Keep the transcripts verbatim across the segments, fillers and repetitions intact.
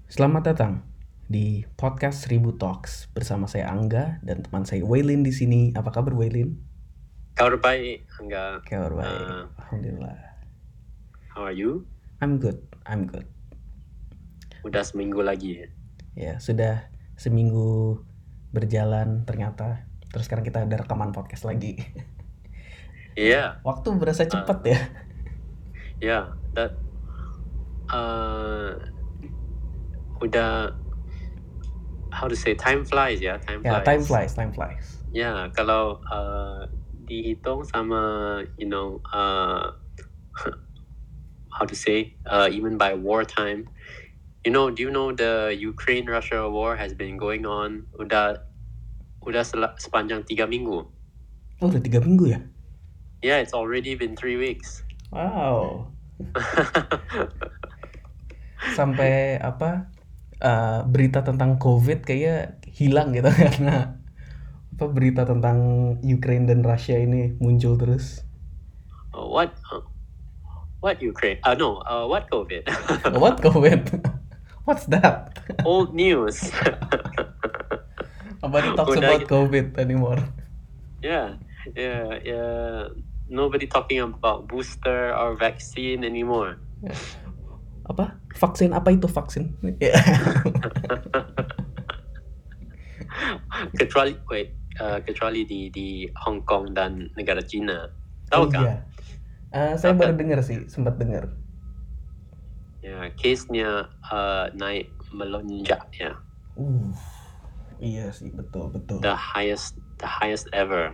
Selamat datang di podcast Seribu Talks bersama saya Angga dan teman saya Waylin di sini. Apa kabar Waylin? Kabar baik, Angga. Kabar baik, Uh, alhamdulillah. how are you? I'm good, I'm good. Udah seminggu lagi ya? Ya, sudah seminggu berjalan ternyata. Terus sekarang kita ada rekaman podcast lagi. Iya. Waktu berasa cepat ya. Ya, that uh, udah how to say time flies ya, time Ya, flies. time flies, time flies. Ya, kalau uh, dihitung sama you know uh, how to say uh, even by wartime, you know, do you know the Ukraine-Russia war has been going on udah udah sel- sepanjang tiga minggu. Oh, udah tiga minggu ya? Yeah, it's already been three weeks. Wow. Sampai apa uh, berita tentang COVID kayaknya hilang gitu karena apa berita tentang Ukraine dan Rusia ini muncul terus. Uh, what uh, what Ukraine? Uh, no, uh, what COVID? What COVID? What's that? Old news. Nobody talks Udah about gitu. COVID anymore. Yeah, yeah, yeah. Nobody talking about booster or vaccine anymore. Apa? Vaksin apa itu vaksin? kecuali wait, uh, kecuali di di Hong Kong dan negara Cina. Oh Tahu kan? iya. Uh, saya Tahu baru kan? dengar sih, sempat dengar. Ya, case-nya uh, naik melonjak ya. Uh, iya sih, betul betul. The highest, the highest ever.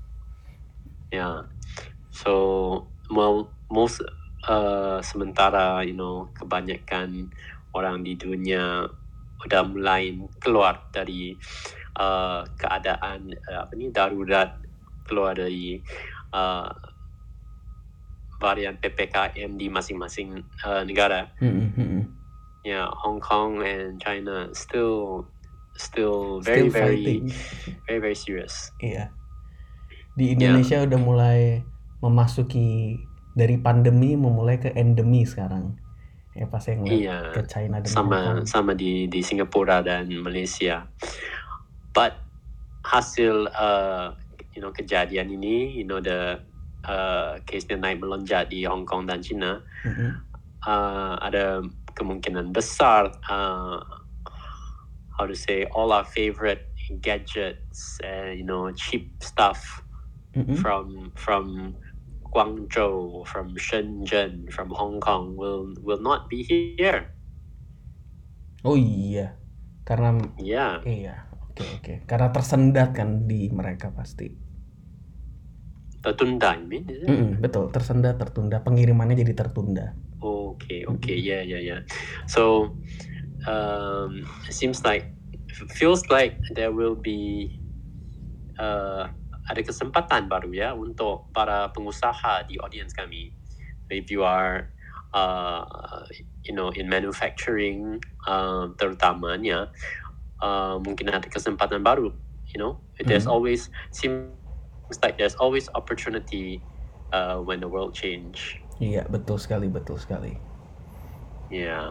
Yeah. So, well, most uh, sementara, you know, kebanyakan orang di dunia udah mulai keluar dari uh, keadaan uh, apa ni darurat, keluar dari uh, varian P P K M di masing-masing uh, negara. Mm-hmm. Yeah, Hong Kong and China still still very Still very fighting. very very serious. Iya. Di Indonesia yeah. udah mulai memasuki dari pandemi memulai ke endemi sekarang. Ya pas yang ngeliat iya, ke China dan sama Hong Kong. sama di di Singapura dan Malaysia. But hasil uh, you know kejadian ini, you know the uh, case-nya naik melonjak di Hong Kong dan China, mm-hmm. uh, ada kemungkinan besar uh, how to say all our favorite gadgets and you know cheap stuff mm-hmm. from from Guangzhou, from Shenzhen, from Hong Kong will will not be here. Oh iya, karena yeah. iya, oke okay, oke, okay. Karena tersendat kan di mereka pasti. Tertunda, you mean? Is it? Mm-mm, betul, tersendat, tertunda, pengirimannya jadi tertunda. Okay, okay, mm-hmm. yeah, yeah, yeah. So, um, it seems like, feels like there will be uh, ada kesempatan baru ya untuk para pengusaha di audience kami. If you are, uh, you know, in manufacturing, uh, terutamanya, uh, mungkin ada kesempatan baru. You know, there's mm-hmm. always seems like there's always opportunity uh, when the world change. Iya, betul sekali, betul sekali. Yeah.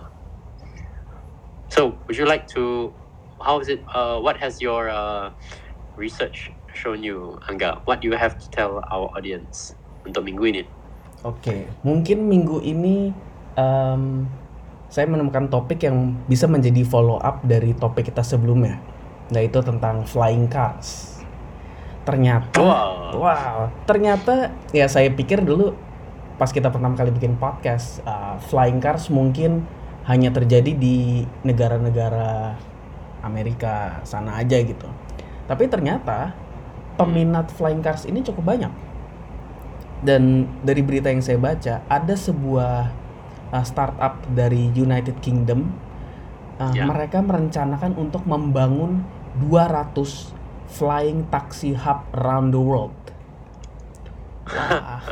So, would you like to? How is it? Uh, what has your uh, research shown you, Angga? What do you have to tell our audience untuk minggu ini? Oke, okay. Mungkin minggu ini um, saya menemukan topik yang bisa menjadi follow up dari topik kita sebelumnya, yaitu tentang flying cars. Ternyata, wow, wow, ternyata ya saya pikir dulu pas kita pertama kali bikin podcast, uh, flying cars mungkin hanya terjadi di negara-negara Amerika sana aja gitu. Tapi ternyata peminat flying cars ini cukup banyak. Dan dari berita yang saya baca, ada sebuah uh, startup dari United Kingdom, uh, yeah. mereka merencanakan untuk membangun dua ratus flying taxi hub around the world. Wah.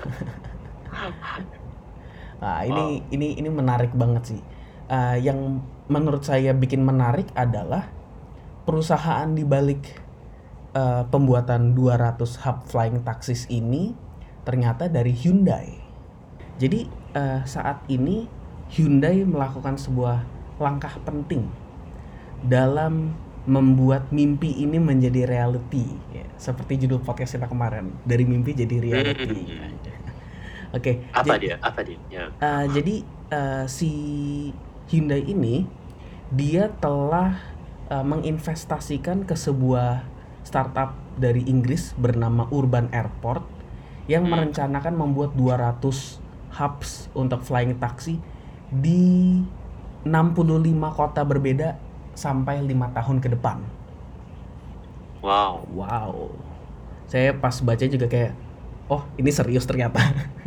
Nah, ini wow. ini ini menarik banget sih. Uh, yang menurut saya bikin menarik adalah perusahaan di balik uh, pembuatan dua ratus hub flying taxis ini ternyata dari Hyundai. Jadi uh, saat ini Hyundai melakukan sebuah langkah penting dalam membuat mimpi ini menjadi reality, ya, seperti judul podcast kita kemarin, dari mimpi jadi reality. Hmm. Oke. Apa jadi, dia? Apa dia? Ya. uh, jadi uh, si Hyundai ini dia telah uh, menginvestasikan ke sebuah startup dari Inggris bernama Urban Airport yang Hmm. merencanakan membuat dua ratus hubs untuk flying taxi di enam puluh lima kota berbeda sampai lima tahun ke depan. Wow. Wow. Saya pas baca juga kayak, oh ini serius ternyata.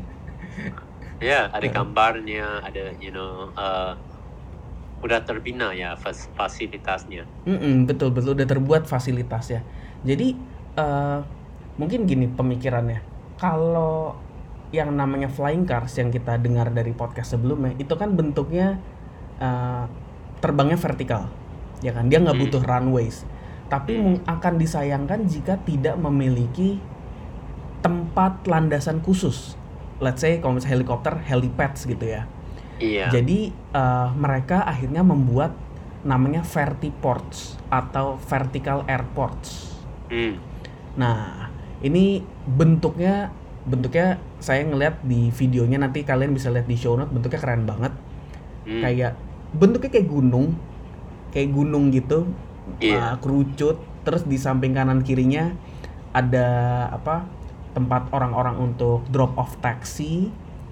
Ya, ada gambarnya, ada you know, uh, udah terbina ya fas- fasilitasnya. Mm-mm, betul betul udah terbuat fasilitasnya. Jadi uh, mungkin gini pemikirannya. Kalau yang namanya flying cars yang kita dengar dari podcast sebelumnya itu kan bentuknya uh, terbangnya vertikal, ya kan? Dia nggak Hmm. butuh runways. Tapi Hmm. mung- akan disayangkan jika tidak memiliki tempat landasan khusus. Let's say kalau misalnya helikopter, helipads gitu ya. Iya. Jadi uh, mereka akhirnya membuat namanya vertiports atau vertical airports. Hmm. Nah, ini bentuknya bentuknya saya ngeliat di videonya, nanti kalian bisa lihat di show note, bentuknya keren banget. Hmm. Kayak bentuknya kayak gunung. Kayak gunung gitu. Iya. uh, kerucut, terus di samping kanan kirinya ada apa? tempat orang-orang untuk drop off taxi,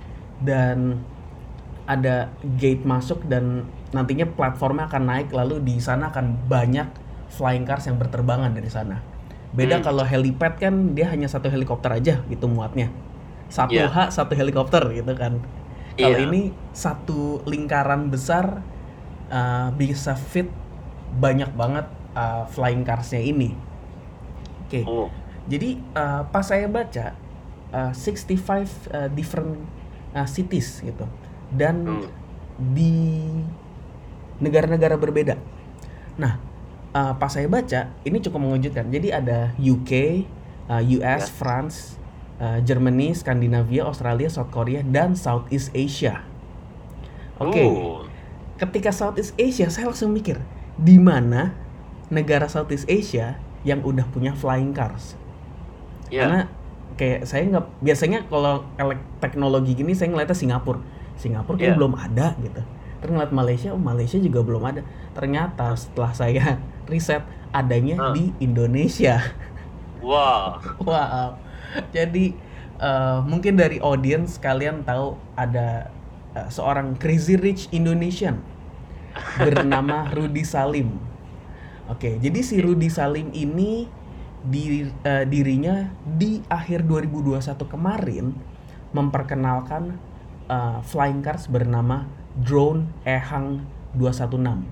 dan ada gate masuk, dan nantinya platformnya akan naik, lalu di sana akan banyak flying cars yang berterbangan dari sana. Beda Hmm. kalau helipad kan dia hanya satu helikopter aja gitu muatnya. Satu Iya. H satu helikopter gitu kan. Kalau Iya. ini satu lingkaran besar, uh, bisa fit banyak banget uh, flying carsnya ini. Oke. Oh. Jadi uh, pas saya baca uh, sixty-five uh, different uh, cities gitu, dan Hmm. di negara-negara berbeda. Nah, uh, pas saya baca ini cukup mengejutkan. Jadi ada U K, uh, U S, Ya. France, uh, Germany, Skandinavia, Australia, South Korea, dan Southeast Asia. Oke. Oh. Ketika Southeast Asia, saya langsung mikir, di mana negara Southeast Asia yang udah punya flying cars? Ya. Karena kayak saya nggak, biasanya kalau elek teknologi gini saya ngeliatnya Singapura. Singapura kayak Yeah. belum ada gitu. Terus ngeliat Malaysia, oh Malaysia juga belum ada. Ternyata setelah saya riset, adanya Huh. di Indonesia. Wow. Wow. Jadi uh, mungkin dari audience kalian tahu ada uh, seorang crazy rich Indonesian bernama Rudy Salim. Oke, jadi si Rudy Salim ini di, uh, dirinya di akhir dua ribu dua puluh satu kemarin memperkenalkan uh, flying cars bernama Drone Ehang dua satu enam.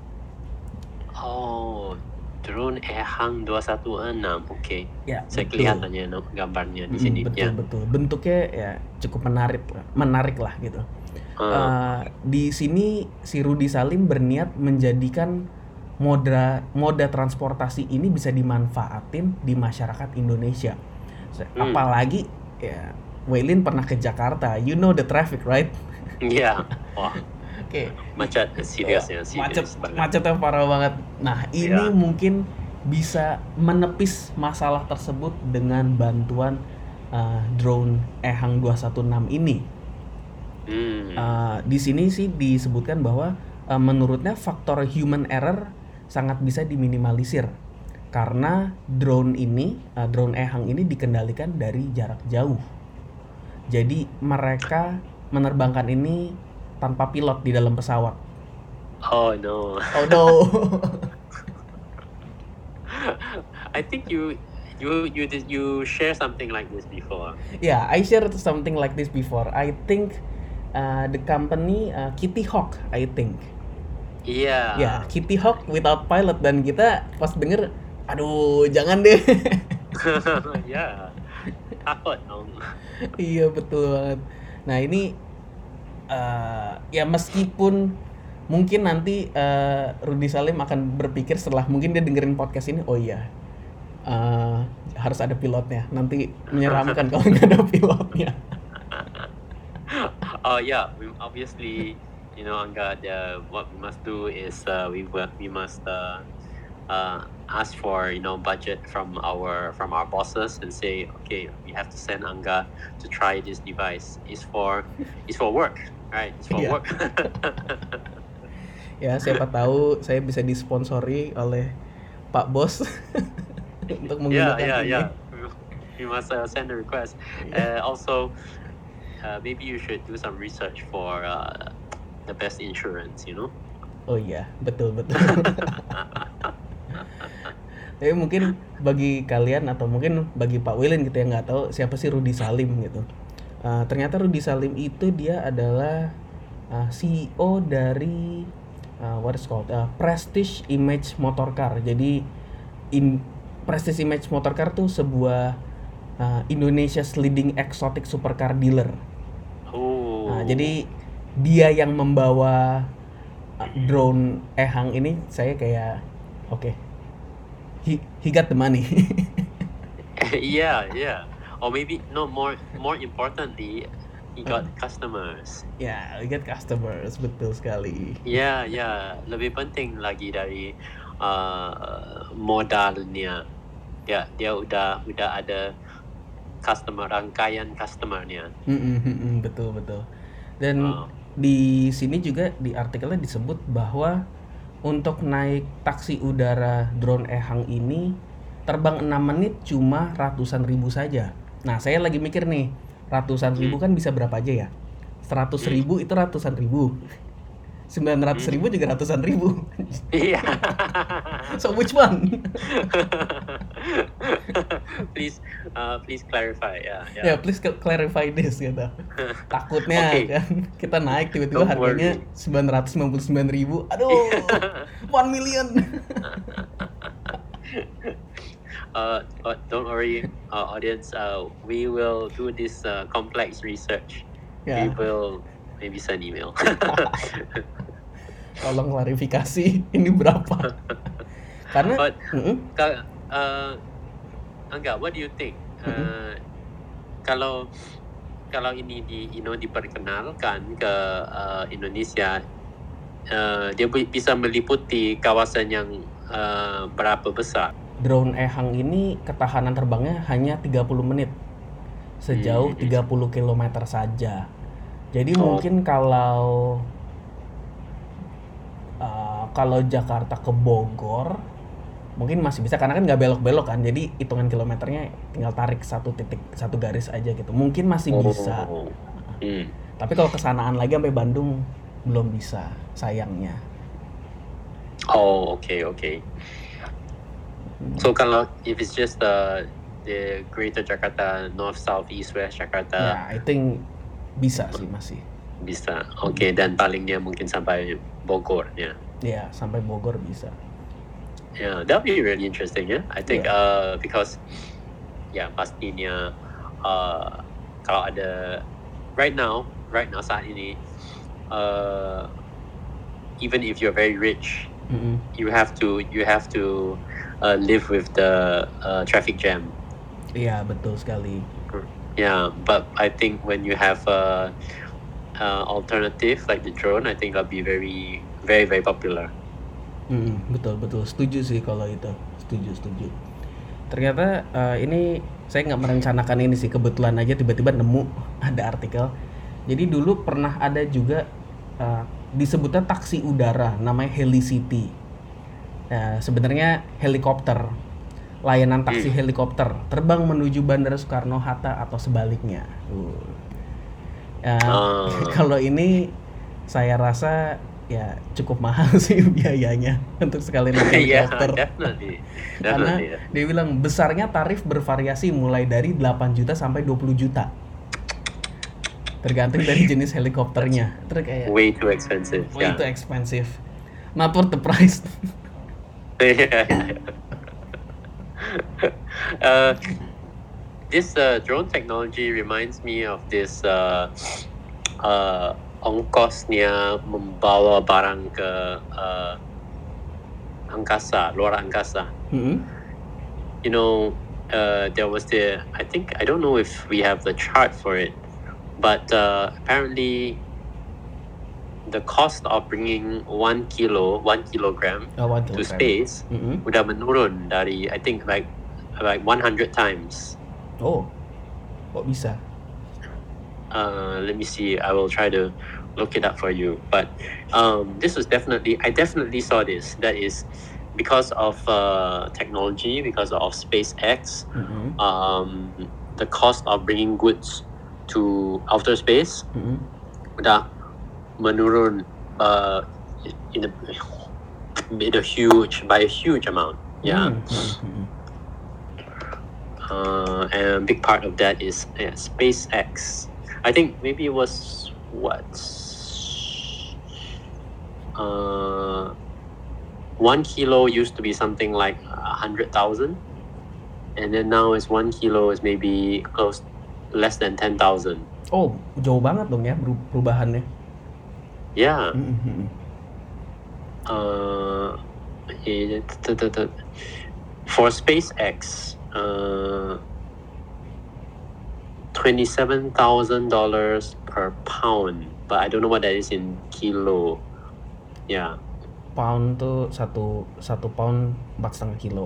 Oh, drone Ehang dua satu enam. Oke. Ya, Saya betul. kelihatannya no, gambarnya di Mm, sini. betul Ya. betul. Bentuknya ya cukup menarik lah, menarik lah gitu. Uh, Uh, di sini si Rudy Salim berniat menjadikan moda moda transportasi ini bisa dimanfaatin di masyarakat Indonesia. Se- Hmm. Apalagi ya, Waylin pernah ke Jakarta, you know the traffic, right? Ya. Wah, Oke. macet serius ya, Macet, serius banget. macetnya parah banget. Nah, ini Ya. mungkin bisa menepis masalah tersebut dengan bantuan uh, drone Ehang dua satu enam ini. Hmm. Uh, di sini sih disebutkan bahwa uh, menurutnya faktor human error sangat bisa diminimalisir karena drone ini, uh, drone Ehang ini dikendalikan dari jarak jauh. Jadi mereka menerbangkan ini tanpa pilot di dalam pesawat. Oh no. Oh no. I think you you you did you share something like this before. Yeah, I shared something like this before. I think uh, the company uh, Kitty Hawk, I think. Iya. Ya, Kitty Hawk without pilot, dan kita pas denger, aduh jangan deh. Ya. Takut dong. Iya betul banget. Nah ini uh, ya meskipun mungkin nanti uh, Rudy Salim akan berpikir setelah mungkin dia dengerin podcast ini, oh iya uh, harus ada pilotnya. Nanti menyeramkan kalau nggak ada pilotnya. Oh yeah, we obviously you know, Angga, the, what we must do is uh, we will- we must uh, uh, ask for, you know, budget from our from our bosses and say, okay, we have to send Angga to try this device. It's for it's for work, right? It's for Iya. work. Ya, siapa tahu saya bisa disponsori oleh Pak Bos untuk yeah, menggunakan yeah, ini. yeah. We must uh, send a request. Uh, also, uh, maybe you should do some research for uh, the best insurance. You know. Oh iya, betul betul. Tapi mungkin bagi kalian atau mungkin bagi Pak Wilin gitu yang nggak tahu siapa sih Rudy Salim gitu. Uh, ternyata Rudy Salim itu dia adalah uh, C E O dari uh, what is called uh, Prestige Image Motorcar. Jadi in Prestige Image Motorcar tuh sebuah uh, Indonesia's leading exotic supercar dealer. Oh. Nah, jadi dia yang membawa uh, drone Ehang ini, saya kayak oke. Okay, he he got the money. yeah, yeah. Or maybe no more more importantly, he got customers. Ya, yeah, we get customers, betul sekali. Ya, yeah, ya. Yeah. Lebih penting lagi dari uh, modalnya. Ya, dia udah udah ada customer, rangkaian customernya. Mm-mm, betul betul. Dan Wow. di sini juga di artikelnya disebut bahwa untuk naik taksi udara drone Ehang ini terbang enam menit cuma ratusan ribu saja. Nah, saya lagi mikir nih, ratusan ribu kan bisa berapa aja ya? seratus ribu itu ratusan ribu. sembilan ratus ribu juga ratusan ribu. Iya. So which one? please, uh, please clarify. Ya, Ya, yeah, please clarify this gitu. Takutnya Okay. kan kita naik tiba-tiba Don't harganya worry. sembilan ratus sembilan puluh sembilan ribu. Aduh, one million. uh, uh, don't worry, uh, audience. Uh, we will do this uh, complex research. Ya, We will maybe send email. tolong klarifikasi ini berapa? Karena But mm-mm, Ka- uh, Angga, what do you think? Uh, kalau kalau ini di you know diperkenalkan ke uh, Indonesia, uh, dia bi- bisa meliputi kawasan yang uh, berapa besar? drone Ehang ini ketahanan terbangnya hanya tiga puluh menit. Sejauh Hmm. tiga puluh kilometer saja. Jadi Oh. mungkin kalau uh, kalau Jakarta ke Bogor mungkin masih bisa karena kan nggak belok-belok kan, jadi hitungan kilometernya tinggal tarik satu titik satu garis aja gitu, mungkin masih bisa. Oh. Hmm. Tapi kalau kesanaan lagi sampai Bandung belum bisa, sayangnya. Oh, okay, okay. So kalau if it's just the the Greater Jakarta, North, South, East, West Jakarta, Ya, I think bisa sih masih. bisa. Okay, dan palingnya mungkin sampai Bogor, ya. Ya, sampai Bogor bisa. Yeah, that'll be really interesting. Yeah, I think Yeah. uh because yeah pastinya uh kalau ada right now right now saat ini uh even if you're very rich, Mm-mm. you have to you have to uh, live with the uh, traffic jam. Iya, betul sekali. Yeah, but I think when you have a uh, alternative like the drone, I think that'll be very very very popular. Mm, betul betul setuju sih kalau itu, setuju setuju. Ternyata uh, ini saya nggak merencanakan ini sih, kebetulan aja tiba-tiba nemu ada artikel. Jadi dulu pernah ada juga uh, disebutnya taksi udara, namanya Helicity. Nah, sebenarnya helikopter, layanan taksi Hmm. helikopter terbang menuju Bandara Soekarno-Hatta atau sebaliknya. Uh. Ya, Ah. kalau ini saya rasa ya cukup mahal sih biayanya untuk sekali naik Yeah, helikopter. definitely, Karena definitely. dia bilang besarnya tarif bervariasi mulai dari delapan juta sampai dua puluh juta. Tergantung dari jenis helikopternya. Terus kayak Way too expensive. way yeah. too expensive. Not worth the price. yeah, yeah. uh, this uh, drone technology reminds me of this uh, uh, ongkosnya membawa barang ke uh, angkasa, luar angkasa. Mm-hmm. You know, uh, there was the, I think, I don't know if we have the chart for it, but uh, apparently the cost of bringing one kilo, one kilogram Oh, one to kilogram. space Mm-mm. udah menurun dari I think like like one hundred times. Oh, kok bisa? Uh, let me see. I will try to look it up for you. But um, this was definitely, I definitely saw this. That is because of uh, technology, because of SpaceX, Mm-mm. um, the cost of bringing goods to outer space Mm-mm. udah menurun uh, in a, in a huge, by a huge amount. Yeah. Mm-mm. Uh, and a big part of that is yeah, SpaceX. I think maybe it was what uh, one kilo used to be something like a hundred thousand, and then now it's one kilo is maybe close less than ten thousand. Oh, jauh banget dong ya beru- perubahannya. Yeah. Mm-mm. Uh, it, t- t- t- for SpaceX, uh, twenty-seven thousand dollars per pound, but I don't know what that is in kilo. Yeah. Pound tuh satu satu pound empat setengah kilo.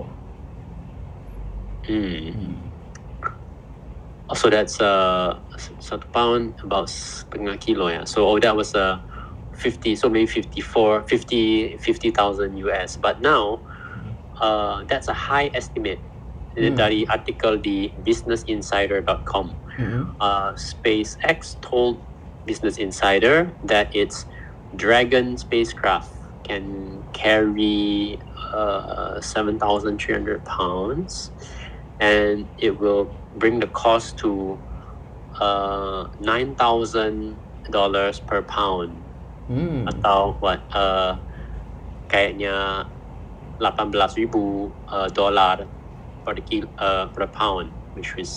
Mm. Hmm. So that's uh satu pound about setengah kilo, yeah. So oh, that was uh fifty, so maybe fifty-four, fifty, fifty thousand U S. But now, uh, that's a high estimate. Hmm. Dari artikel di business insider dot com. Mm-mm. Uh, SpaceX told Business Insider that its Dragon spacecraft can carry uh, seven thousand three hundred pounds, and it will bring the cost to uh, nine thousand dollars per pound. Hmm. Atau what? Uh, kayaknya lapan belas ribu uh, dolar per kilo, uh, per pound, which is,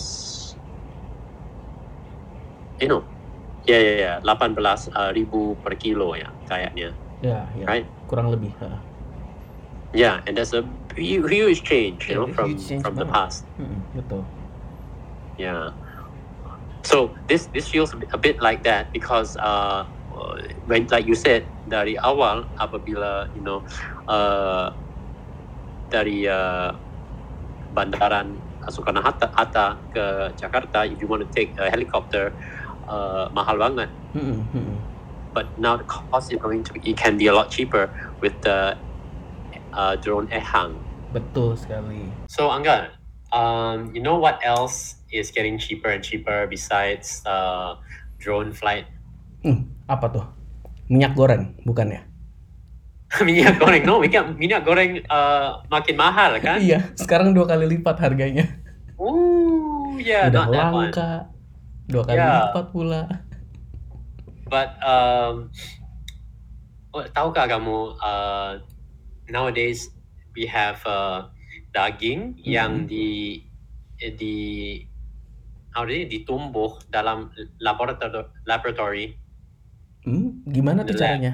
you know, yeah, yeah, yeah, lapan belas ribu per kilo ya kayaknya. Ya, ya. Right? Kurang lebih. Ha. Yeah, and that's a hu- huge change, you Yeah, know, from huge change from the banget. past. Mm-mm, betul. Yeah. So this this feels a bit, a bit like that because uh, when like you said dari awal apabila you know uh, dari uh, bandaran Soekarno Hatta, Hatta ke Jakarta, if you want to take a helicopter, uh, mahal banget. Mm-mm, mm-mm. But now the cost is going to be, it can be a lot cheaper with the uh, drone Ehang. Betul sekali. So Angga, um, you know what else is getting cheaper and cheaper besides uh, drone flight? Hmm, apa tuh? Minyak goreng, bukan ya? Minyak goreng, no, minyak, minyak goreng uh, makin mahal kan? Iya, sekarang dua kali lipat harganya. Ooh, yeah, Udah not that one. langka, dua kali Yeah. lipat pula. But um, oh, tahukah kamu uh, nowadays we have uh, daging Mm-mm. yang di di how do you, ditumbuh dalam laborator- laboratory. Hmm, gimana tuh The lab. caranya?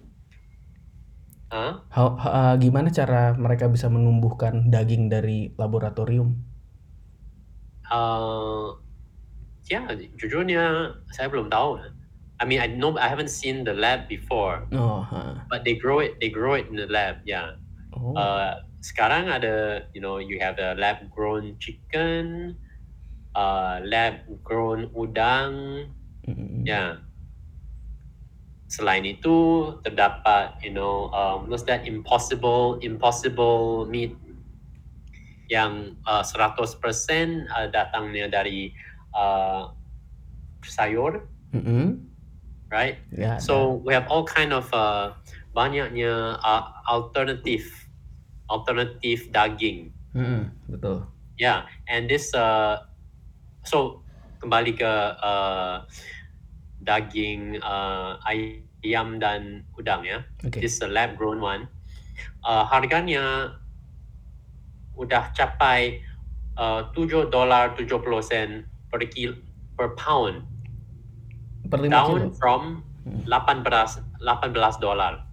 Huh? Ha- ha- uh, gimana cara mereka bisa menumbuhkan daging dari laboratorium? Uh, ya, jujurnya saya belum tahu. I mean, I know I haven't seen the lab before, Oh, ha. but they grow it. They grow it in the lab. Yeah. Oh. Uh, sekarang ada, you know, you have the lab grown chicken, uh, lab grown udang. Mm-mm. Yeah. Selain itu terdapat, you know, um, what's that impossible impossible meat yang uh, seratus persen uh, datangnya dari uh, sayur, Mm-mm. right? Ya, So ada. we have all kind of uh, banyaknya uh, alternative alternative daging. Mm-mm, betul. Yeah, and this uh, so kembali ke uh, daging uh, ayam dan udang ya. Oke. This uh, lab grown one. Uh, harganya udah capai uh, tujuh dolar tujuh puluh sen per kilo per pound. Per lima Down kilo. from Hmm. delapan belas dolar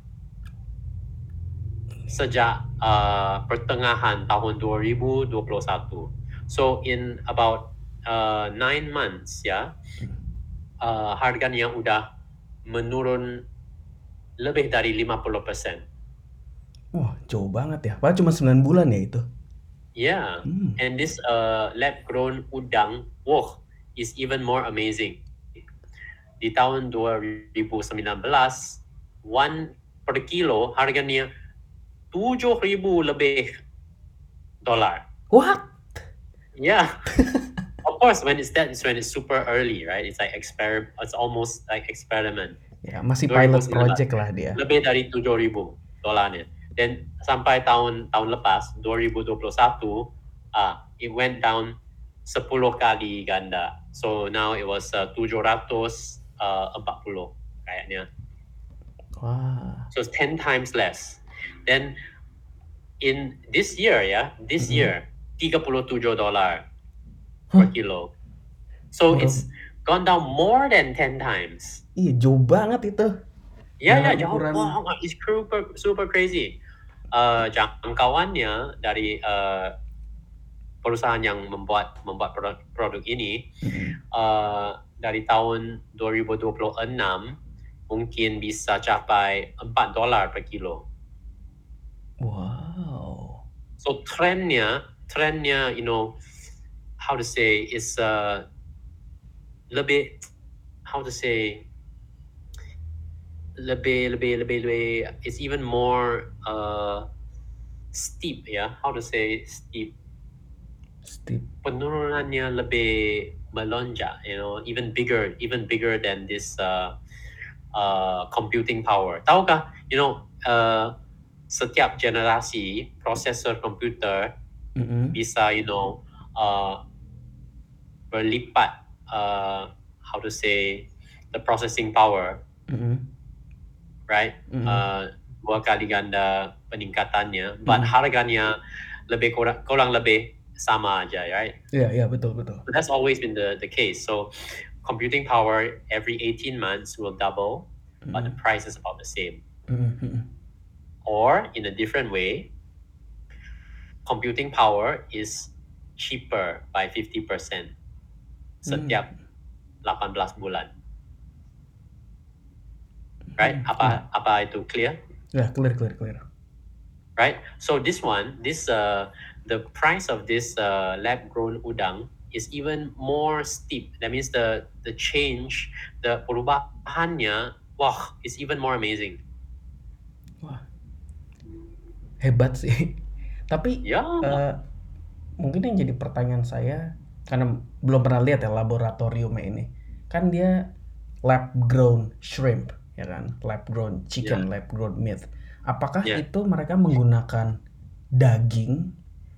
sejak uh, pertengahan tahun dua ribu dua puluh satu. So in about uh, nine months ya, uh, harganya udah menurun lebih dari lima puluh persen. Wah, jauh banget ya. Padahal cuma sembilan bulan ya itu. Yeah, Hmm. and this uh, lab-grown udang, wah, is even more amazing. Di tahun dua ribu sembilan belas, one per kilo harganya tujuh ribu lebih dolar. What? Yeah. Of course, when it's that, it's when it's super early, right? It's like exper, it's almost like experiment. Ya, masih pilot dua ribu sembilan belas, project lah dia. lebih dari tujuh ribu dolarnya. Dan sampai tahun tahun lepas, dua ribu dua puluh satu, ah, it went down sepuluh kali ganda. So now it was uh, tujuh ratus empat puluh kayaknya. Wah. So it's ten times less. Then in this year, ya, this Mm-mm. year tiga puluh tujuh dolar per Hah? kilo. So Bro. it's gone down more than ten times. Iya, jauh banget itu. Ya, ya, Dengan jauh ukuran- banget. It's super, super crazy. Uh, jangkauannya dari uh, perusahaan yang membuat membuat produk, produk ini Mm-mm. uh, dari tahun dua ribu dua puluh enam mungkin bisa capai empat dolar per kilo. Wow. So trennya, trennya, you know, how to say, is uh, lebih, how to say, lebih, lebih, lebih, lebih, it's even more uh, steep, ya. How to say steep? Steep. Penurunannya lebih melonjak, you know, even bigger, even bigger than this uh, uh, computing power. Tahukah, you know, uh, setiap generasi prosesor komputer Mm-mm. bisa, you know, uh, berlipat, uh, how to say, the processing power, Mm-mm. right? Mm-mm. Uh, dua kali ganda peningkatannya, but Mm-mm. harganya lebih kurang, kurang lebih sama aja, right? Iya, iya, betul, betul. So that's always been the, the case. So computing power every eighteen months will double, but the Mm-mm. price is about the same. Mm-mm. Or in a different way, computing power is cheaper by fifty percent setiap delapan belas bulan. Right? Hmm, Apa apa itu clear? Ya, clear, clear, clear. Right? So this one, this uh, the price of this uh, lab-grown udang is even more steep. That means the the change, the perubahannya, wah, is even more amazing. Wah, hebat sih. Tapi Ya. eh, mungkin yang jadi pertanyaan saya, karena belum pernah lihat ya laboratoriumnya ini, kan dia lab grown shrimp, ya kan, lab grown chicken, lab grown meat. Apakah Yeah. itu mereka menggunakan daging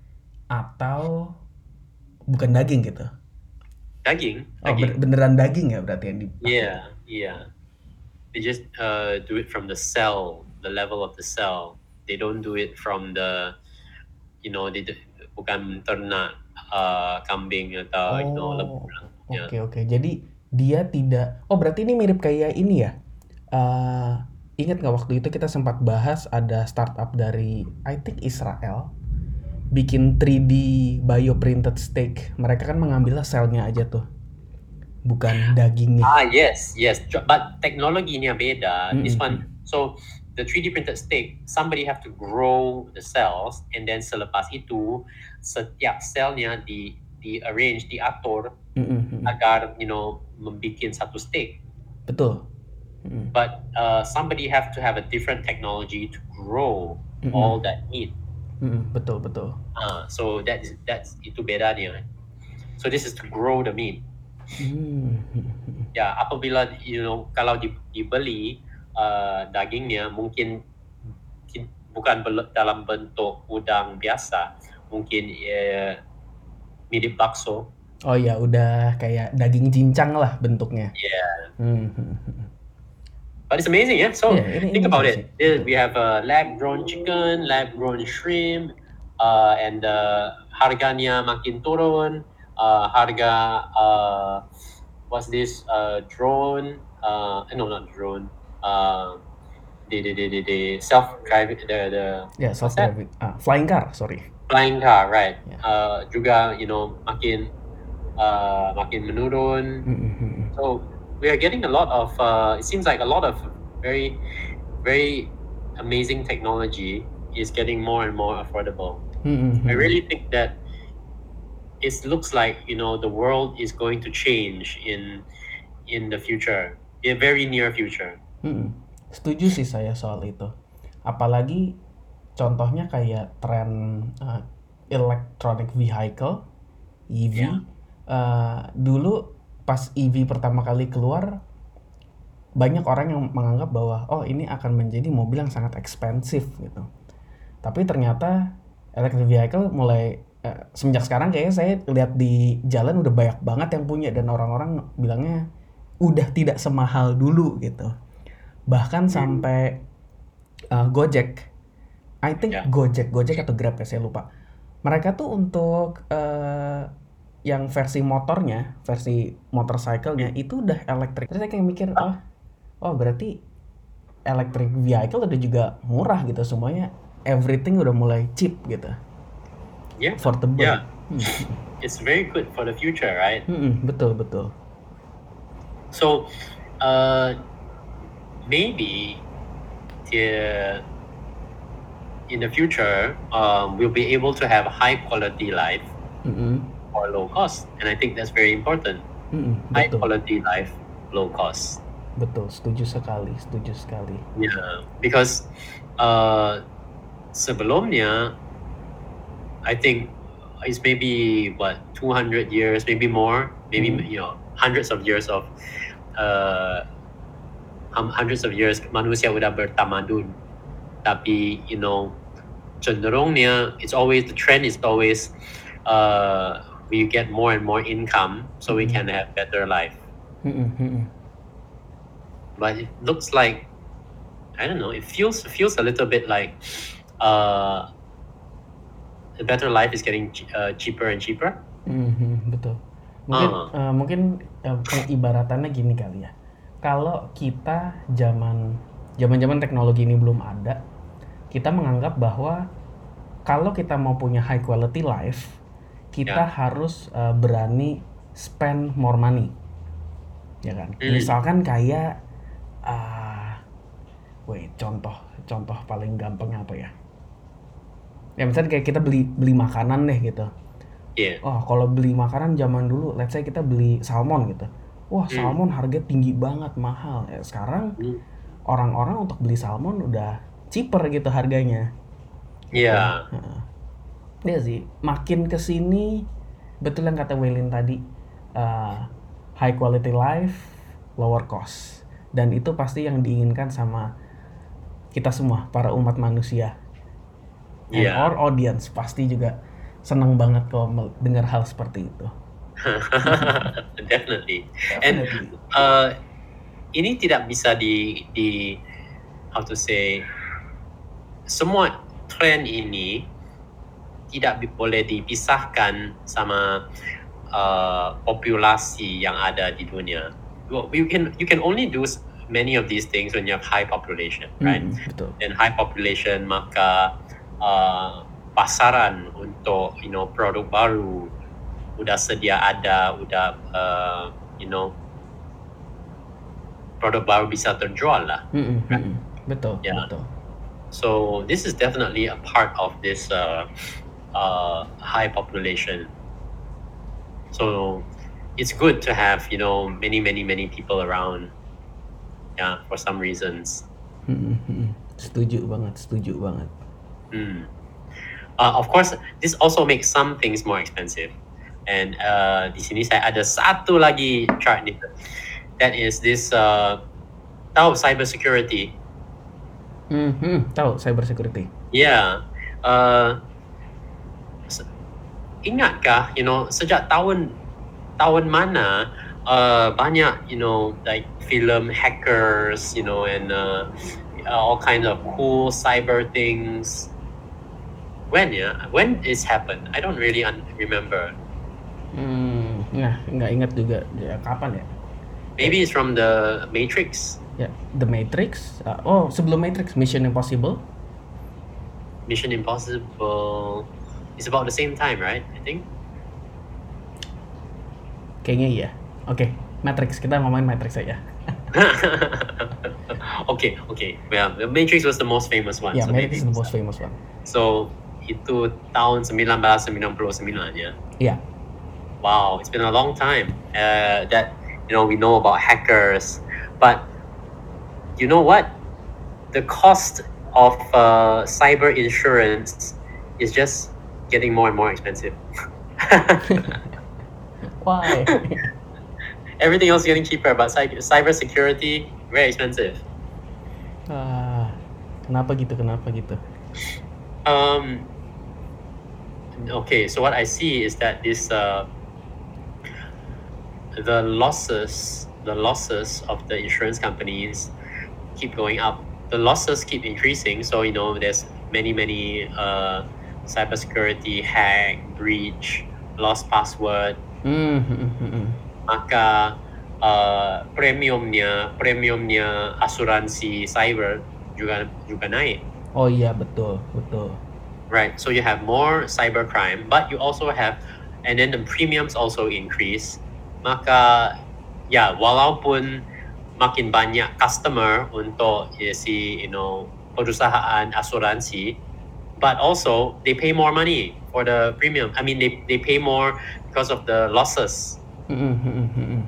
atau bukan daging gitu? Daging, Oh, daging. ben- beneran daging ya berarti yang dipakai? Yeah, yeah. They just uh, do it from the cell, the level of the cell. They don't do it from the, you know, they do, bukan ternak uh, kambing atau you know lembu. Oh, Yeah. oke oke. Jadi dia tidak. Oh, berarti ini mirip kayak ini ya? Eh, ingat nggak waktu itu kita sempat bahas ada startup dari I think Israel bikin three D bioprinted steak. Mereka kan mengambil selnya aja tuh, bukan dagingnya. Ah yes, yes. But teknologinya beda. This Mm-mm. one, so the three D printed steak, somebody have to grow the cells, and then selepas itu setiap selnya di di arrange, diatur Mm-mm. agar you know membikin satu steak. Betul. Mm-mm. But uh, somebody have to have a different technology to grow Mm-mm. all that meat. Mm-mm. Betul betul. Uh, so that is that's itu bedanya. So this is to grow the meat. Hmm. Ya, apabila you know kalau di, dibeli uh, dagingnya mungkin ki- bukan bel- dalam bentuk udang biasa, mungkin uh, mirip bakso. Oh ya, udah kayak daging cincang lah bentuknya. Yeah. Hmm. But it's amazing, yeah. So Yeah, ini- think ini about sih. it. There We have uh, lab-grown chicken, lab-grown shrimp, uh, and uh, harganya makin turun. Uh, harga uh, what's this uh, drone? Uh, no, not drone. Uh, the the the the, the self-driving the the Ya, what's that? self-driving. Ah, flying car, sorry. Flying car, right? Yeah. Uh, juga you know makin uh, makin menurun. Mm-mm. So we are getting a lot of. Uh, it seems like a lot of very very amazing technology is getting more and more affordable. Mm-mm. I really think that it looks like, you know, the world is going to change in in the future, in very near future. Mm-mm. Setuju sih saya soal itu. Apalagi contohnya kayak tren uh, electronic vehicle E V. Yeah. Uh, dulu pas E V pertama kali keluar, banyak orang yang menganggap bahwa oh ini akan menjadi mobil yang sangat ekspensif gitu. Tapi ternyata electric vehicle mulai uh, semenjak sekarang kayaknya saya lihat di jalan udah banyak banget yang punya, dan orang-orang bilangnya udah tidak semahal dulu gitu. Bahkan Hmm. sampai uh, Gojek, I think Yeah. Gojek, Gojek atau Grab ya saya lupa. Mereka tuh untuk uh, yang versi motornya, versi motorcycle-nya itu udah elektrik. Terus saya kayak mikir, oh, oh berarti electric vehicle udah juga murah gitu, semuanya everything udah mulai cheap gitu, Yeah. affordable. Yeah. Hmm. It's very good for the future, right? Mm-mm, betul betul. So, uh, maybe the, in the future, um, we'll be able to have high quality life Mm-mm, for low cost, and I think that's very important. mm-mm, High betul quality life, low cost. betul, setuju sekali, setuju sekali. Yeah, because uh, sebelumnya, I think it's maybe what two hundred years, maybe more, maybe Hmm. you know hundreds of years of uh, hum- hundreds of years manusia udah bertamadun, tapi you know cenderungnya it's always the trend is always uh, we get more and more income so we Mhm. can have better life. Mm-mm, mm-mm. But it looks like I don't know. It feels feels a little bit like uh, the better life is getting ch- uh, cheaper and cheaper. Mhm, betul. Mungkin Ah. eh, mungkin eh, pengibaratannya gini kali ya. Kalau kita zaman zaman-zaman teknologi ini belum ada, kita menganggap bahwa kalau kita mau punya high quality life, kita Ya. harus eh, berani spend more money. Ya kan? Hmm. Misalkan kayak ah wait, contoh contoh paling gampang apa ya? Ya misalnya kayak kita beli beli makanan deh gitu. Yeah. Oh, kalau beli makanan zaman dulu, let's say kita beli salmon gitu. Wah, Hmm. salmon harga tinggi banget, mahal. Ya, sekarang Hmm. orang-orang untuk beli salmon udah cheaper gitu harganya. Yeah. Heeh. Iya sih, makin kesini betul yang kata Waylin tadi, uh, high quality life, lower cost, dan itu pasti yang diinginkan sama kita semua, para umat manusia. And Yeah. our audience pasti juga senang banget kalau mel- dengar hal seperti itu. Definitely. And Definitely. uh, ini tidak bisa di di how to say semua trend ini tidak bi- boleh dipisahkan sama uh, populasi yang ada di dunia. Well, you can you can only do s- many of these things when you have high population, right? Mm, betul. And high population maka uh, pasaran untuk you know produk baru udah sedia ada, udah uh, you know produk baru bisa terjual lah. Mm-mm, mm-mm. Betul, Yeah. betul. So this is definitely a part of this uh, uh, high population. So it's good to have you know many many many people around. Yeah, for some reasons. Mm-mm, mm-mm. Setuju banget, setuju banget. Hmm. Uh, of course, this also makes some things more expensive. And uh, di sini saya ada satu lagi chart nih. That is this uh, tahu cyber security. Mm-hmm. Tahu cyber security. Yeah. Uh, se- ingatkah, you know, sejak tahun tahun mana uh, banyak, you know, like film hackers, you know, and uh, all kinds of cool cyber things. When ya? When this happened? I don't really un- remember. Hmm, nah, nggak ingat juga ya, kapan ya? Maybe it's from the Matrix. Ya, The Matrix. Uh, oh, sebelum Matrix, Mission Impossible. Mission Impossible. It's about the same time, right? I think. Kayaknya iya. Oke, Matrix. Kita ngomongin Matrix aja. okay, okay. Well, the Matrix was the most famous one. Yeah, so Matrix is maybe the most famous one. So itu tahun nineteen ninety-nine ya. Yeah. Wow, it's been a long time uh, that you know we know about hackers, but you know what? The cost of uh, cyber insurance is just getting more and more expensive. Why? Everything else is getting cheaper, but cyber cyber security very expensive. Ah, kenapa gitu? Kenapa gitu? Um. Okay, so what I see is that this uh, the losses, the losses of the insurance companies keep going up. The losses keep increasing. So you know, there's many many uh, cybersecurity hack, breach, lost password. Mm-hmm. Maka uh, premiumnya premiumnya asuransi cyber juga juga naik. Oh iya, betul, betul. Right, so you have more cybercrime, but you also have, and then the premiums also increase. Maka ya, walaupun makin banyak customer untuk ya, si you know perusahaan asuransi, but also they pay more money for the premium. I mean, they they pay more because of the losses. Mm-hmm.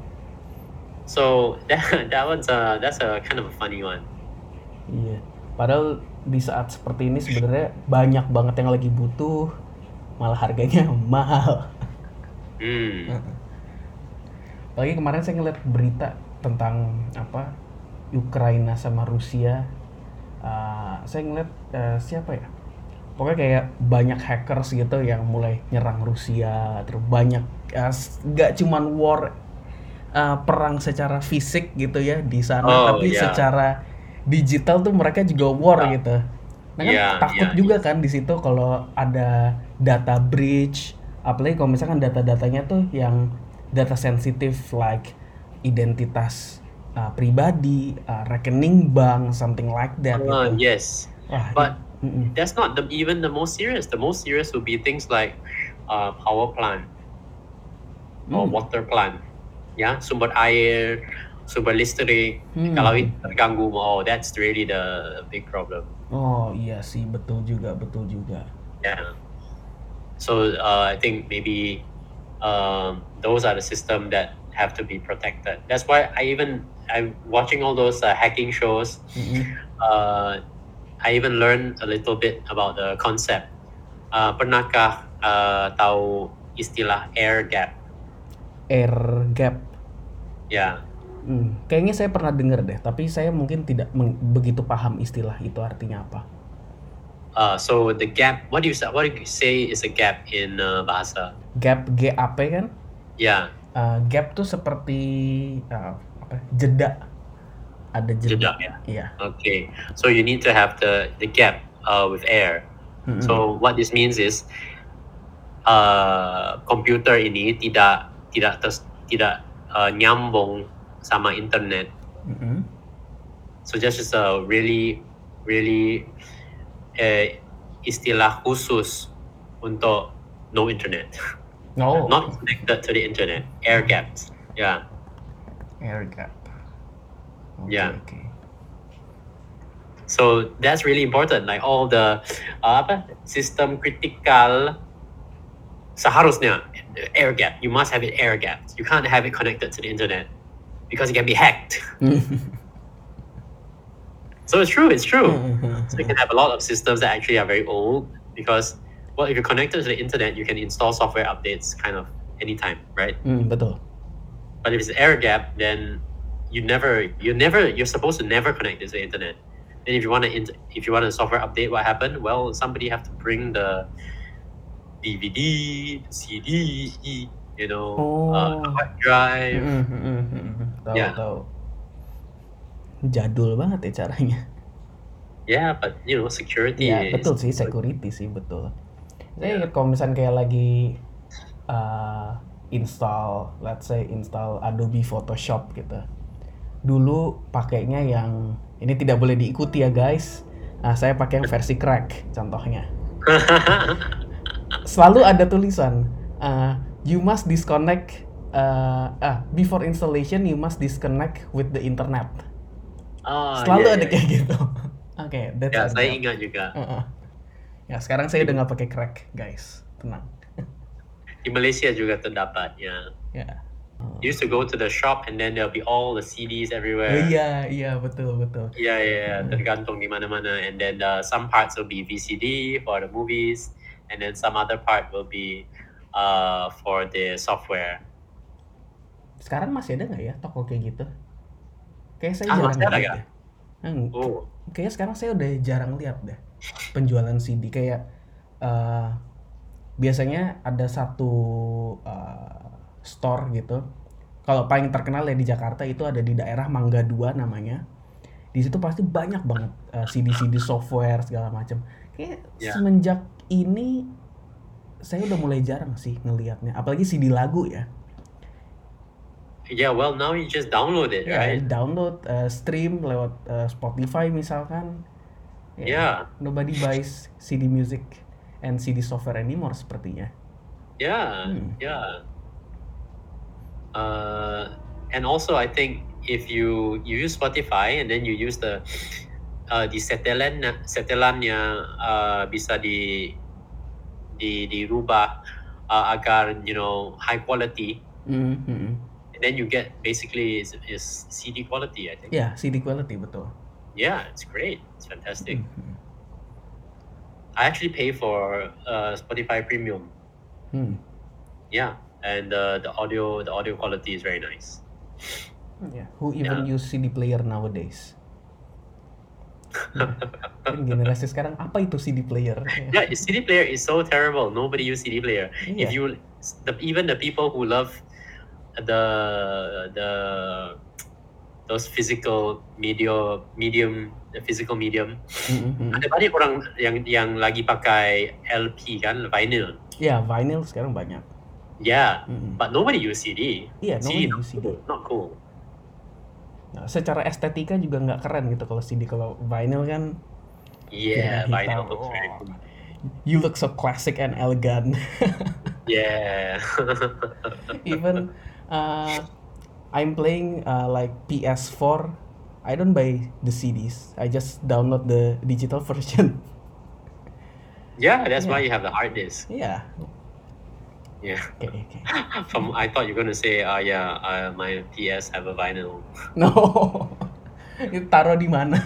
So that that one's a that's a kind of a funny one. Iya. Padahal di saat seperti ini sebenarnya banyak banget yang lagi butuh, malah harganya mahal. Hmm. Apalagi kemarin saya ngeliat berita tentang apa Ukraina sama Rusia. Uh, saya ngeliat uh, siapa ya? Pokoknya kayak banyak hackers gitu yang mulai nyerang Rusia. Terus banyak, uh, gak cuman war uh, perang secara fisik gitu ya di sana, Oh, tapi yeah. secara digital tuh mereka juga war Yeah. gitu. Nah kan Yeah, takut yeah, juga kan di situ kalau ada data breach, apalagi kalau misalkan data-datanya tuh yang data sensitif like identitas uh, pribadi, uh, rekening bank, something like that Uh, gitu. yes, Wah, but mm-mm. that's not the, even the most serious. The most serious would be things like uh, power plant or Hmm. water plant. Ya, sumber air, sumber listrik. Hmm. Kalau itu terganggu, oh, that's really the big problem. Oh iya sih, betul juga, betul juga. Yeah. So uh, I think maybe um, those are the system that have to be protected. That's why I even I'm watching all those uh, hacking shows. Mm-mm. Uh, I even learned a little bit about the concept. Uh, pernahkah uh, tahu istilah air gap? Air gap. Ya. Hmm, kayaknya saya pernah dengar deh, tapi saya mungkin tidak meng- begitu paham istilah itu artinya apa. Uh, so the gap, what do you say? What do you say is a gap in uh, bahasa? Gap, G A P kan? Ya. Uh, gap tuh seperti uh, apa? Jeda. Ada jeda. Jeda, ya. Iya. Okay. So you need to have the the gap uh, with air. Mm-mm. So what this means is uh, komputer ini tidak tidak tes, tidak uh, nyambung sama internet. Mm-mm. So that's just a really really uh, istilah khusus untuk no internet. Oh. Not connected to the internet. Air gaps. Yeah. Air gap. Okay, Yeah. Okay. So that's really important. Like all the uh, apa sistem kritikal seharusnya air gap. You must have it air gapped. You can't have it connected to the internet because it can be hacked. So it's true. It's true. So you can have a lot of systems that actually are very old because, well, if you're connected to the internet, you can install software updates kind of anytime, right? Hmm, betul. But if it's air gap, then you never, you never, you're supposed to never connect it to the internet. Then if you want to, if you want a software update, what happened? Well, somebody have to bring the D V D, the C D, you know, Oh. uh, hard drive. Mm-hmm. Tahu Yeah. tahu. Jadul banget ya caranya. Yeah, but you know, security. Iya, is- betul sih, security sih, betul. Saya Yeah. ingat kalau misalnya kayak lagi uh, install, let's say install Adobe Photoshop gitu. Dulu pakainya yang, ini tidak boleh diikuti ya guys. Nah, saya pakai yang versi crack contohnya. Selalu ada tulisan, uh, you must disconnect, uh, ah, before installation you must disconnect with the internet. Ah, Selalu ya, ada ya, kayak ya. gitu. Oke, that's Ya, our saya job. ingat juga. Heeh. Ya, sekarang saya udah Di, nggak pakai crack, guys. Tenang. di Malaysia juga terdapat, ya. Ya. You used to go to the shop and then there'll be all the C Ds Oh everywhere. iya, iya betul betul. Yeah, yeah, yeah, Heeh. tergantung di mana-mana. And then uh, some parts will be V C D for the movies, and then some other part will be uh, for the software. Sekarang masih ada nggak ya toko kayak gitu? Kayak saya Ah, jarang masih ada lihat ya? deh. Hmm, k- Oh, kayaknya sekarang saya udah jarang lihat deh penjualan C D kayak eh, biasanya ada satu eh, store gitu. Kalau paling terkenal ya di Jakarta itu ada di daerah Mangga Dua namanya. Di situ pasti banyak banget eh, C D-C D software segala macam. Kayak yeah. semenjak ini saya udah mulai jarang sih ngelihatnya, apalagi C D lagu ya. Yeah, well, now you just download it, Ya, right? download, eh, stream lewat eh, Spotify misalkan. Ya, Yeah, nobody buys C D music and C D software anymore sepertinya. yeah, Hmm. yeah. Uh, and also, I think if you you use Spotify and then you use the uh, di setelan setelannya uh, bisa di di dirubah uh, agar you know high quality, Hmm, hmm, hmm. and then you get basically is, is C D quality, I think. Ya, C D quality betul. Yeah, it's great. It's fantastic. Hmm, hmm. I actually pay for uh, Spotify Premium. Hmm. Yeah, and uh, the audio the audio quality is very nice. Ya, who even Yeah. use C D player nowadays? Ya. Kan generasi sekarang apa itu C D player? Ya. Yeah, C D player is so terrible. Nobody use C D player. Iya. If you the, even the people who love the the those physical medium medium the physical medium, Hmm, hmm. ada banyak orang yang yang lagi pakai L P kan, vinyl. Ya, vinyl sekarang banyak. Yeah, Hmm. but nobody use C D. Iya, C D nobody not use C D. cool, not cool. Nah, secara estetika juga nggak keren gitu kalau C D. Kalau vinyl kan Yeah, piringan vinyl hitam. looks very Oh, cool. you look so classic and elegant. Yeah. Even uh, I'm playing uh, like P S four. I don't buy the C Ds. I just download the digital version. Yeah, that's Yeah. why you have the hard disk. Yeah. Yeah. Okay. Okay. From I thought you were gonna say, uh, yeah, uh, my P S have a vinyl. No. Itu taruh di mana?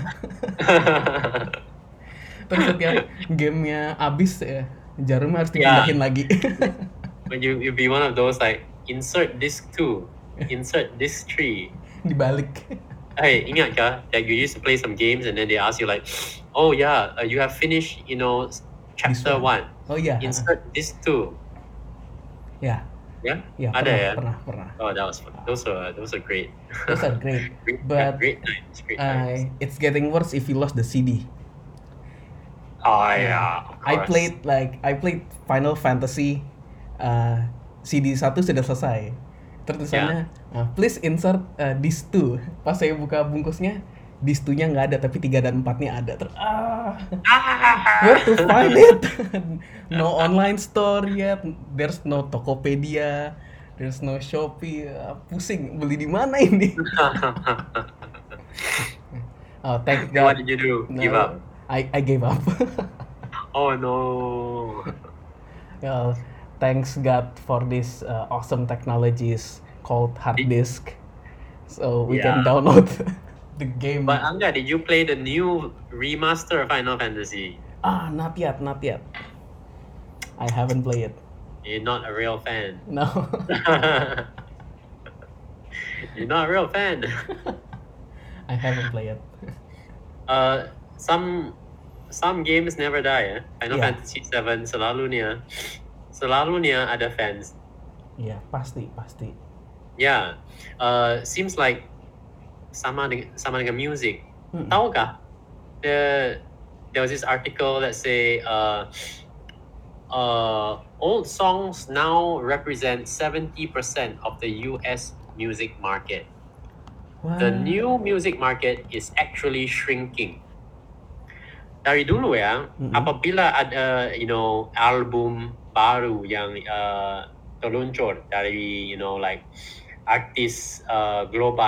Terus setiap gamenya habis ya, jarumnya harus Yeah. dipindahin lagi. But you you be one of those like insert disc two, insert disc three. Dibalik. Hey, ingat kah that you used to play some games and then they ask you like, oh yeah, uh, you have finished, you know, chapter one. one. Oh iya. Insert disc two. Ya. Yeah. Ya, Ada pernah, ya? pernah, pernah. Oh, that was fun. Those are those are great. Those are great. great, But great times. Great uh, times. it's getting worse if you lost the C D. Oh yeah, of I course. played like I played Final Fantasy uh, C D satu sudah selesai. Terus tulisannya uh, please insert uh, disc two. Pas saya buka bungkusnya, disc two-nya nggak ada tapi tiga dan empatnya ada. Terus ah, where to find it? No online store yet. There's no Tokopedia. There's no Shopee. Uh, pusing beli di mana ini? Oh, thank Then what God. did you do? No, Give up? I I gave up. Oh no. Well, thanks God for this uh, awesome technologies called hard Did- disk, so we Yeah. can download the game. But Angga, did you play the new remaster of Final Fantasy? Ah, not yet, not yet. I haven't played it. You're not a real fan. No. You're not a real fan. I haven't played it. Uh, some some games never die. Eh? Final Yeah. Fantasy seven selalunya selalunya ada fans. Iya, pasti, pasti. Yeah. Uh, seems like sama dengan sama dengan music. Mm-mm. Tahukah? The there was this article that say uh, uh, old songs now represent seventy percent of the U S music market. Wah. The new music market is actually shrinking. Dari dulu ya, Mm-mm. apabila ada you know album baru yang uh, terluncur dari you know like artis uh, global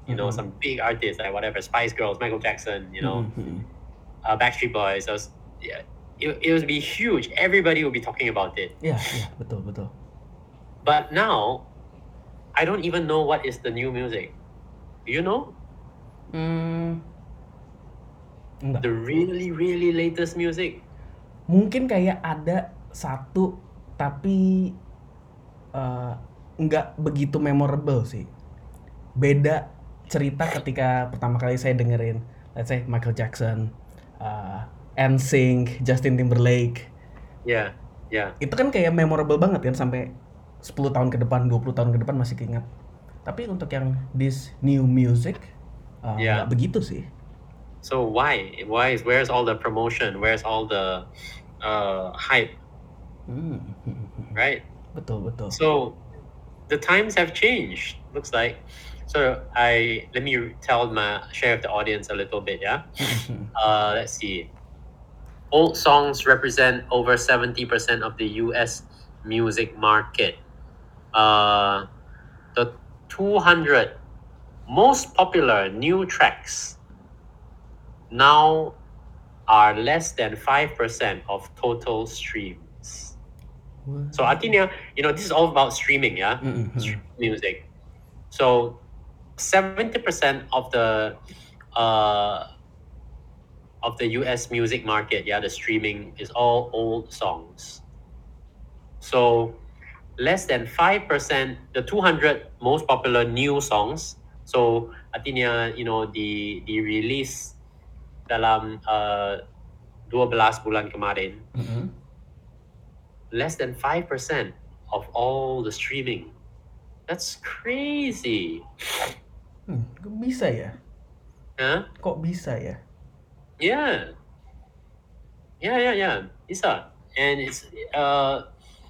you know, Mm-mm. some big artists like whatever, Spice Girls, Michael Jackson, you know, Mm-mm. uh, Backstreet Boys. I was, yeah, it, it would be huge. Everybody would be talking about it. Iya, iya, betul, betul. But now, I don't even know what is the new music. Do you know? Hmm, enggak. The really, really latest music. Mungkin kayak ada satu, tapi eh, nggak begitu memorable sih. Beda cerita ketika pertama kali saya dengerin, let's say Michael Jackson, uh, N Sync, Justin Timberlake. Yeah, yeah. Itu kan kayak memorable banget kan, sampai sepuluh tahun ke depan, dua puluh tahun ke depan masih keinget. Tapi untuk yang this new music, uh, Yeah. nggak begitu sih. So why? Why is where's all the promotion? Where's all the uh, hype? Hmm. Right? Betul, betul. So the times have changed. Looks like. So I let me tell my share of the audience a little bit. Yeah. uh, let's see. Old songs represent over seventy percent of the U S music market. Uh, the two hundred most popular new tracks now are less than five percent of total streams. So artinya, you know, this is all about streaming, yeah? Mm-mm. Stream music. So seventy percent of the uh, of the U S music market, yeah, the streaming is all old songs. So less than five percent, the two hundred most popular new songs. So artinya, you know, di di release dalam uh, dua belas bulan kemarin, Mm-mm. less than five percent of all the streaming. That's crazy. Hmm, kok bisa ya? Huh? Kok bisa ya? Yeah. Yeah, yeah, yeah. Bisa. And it's uh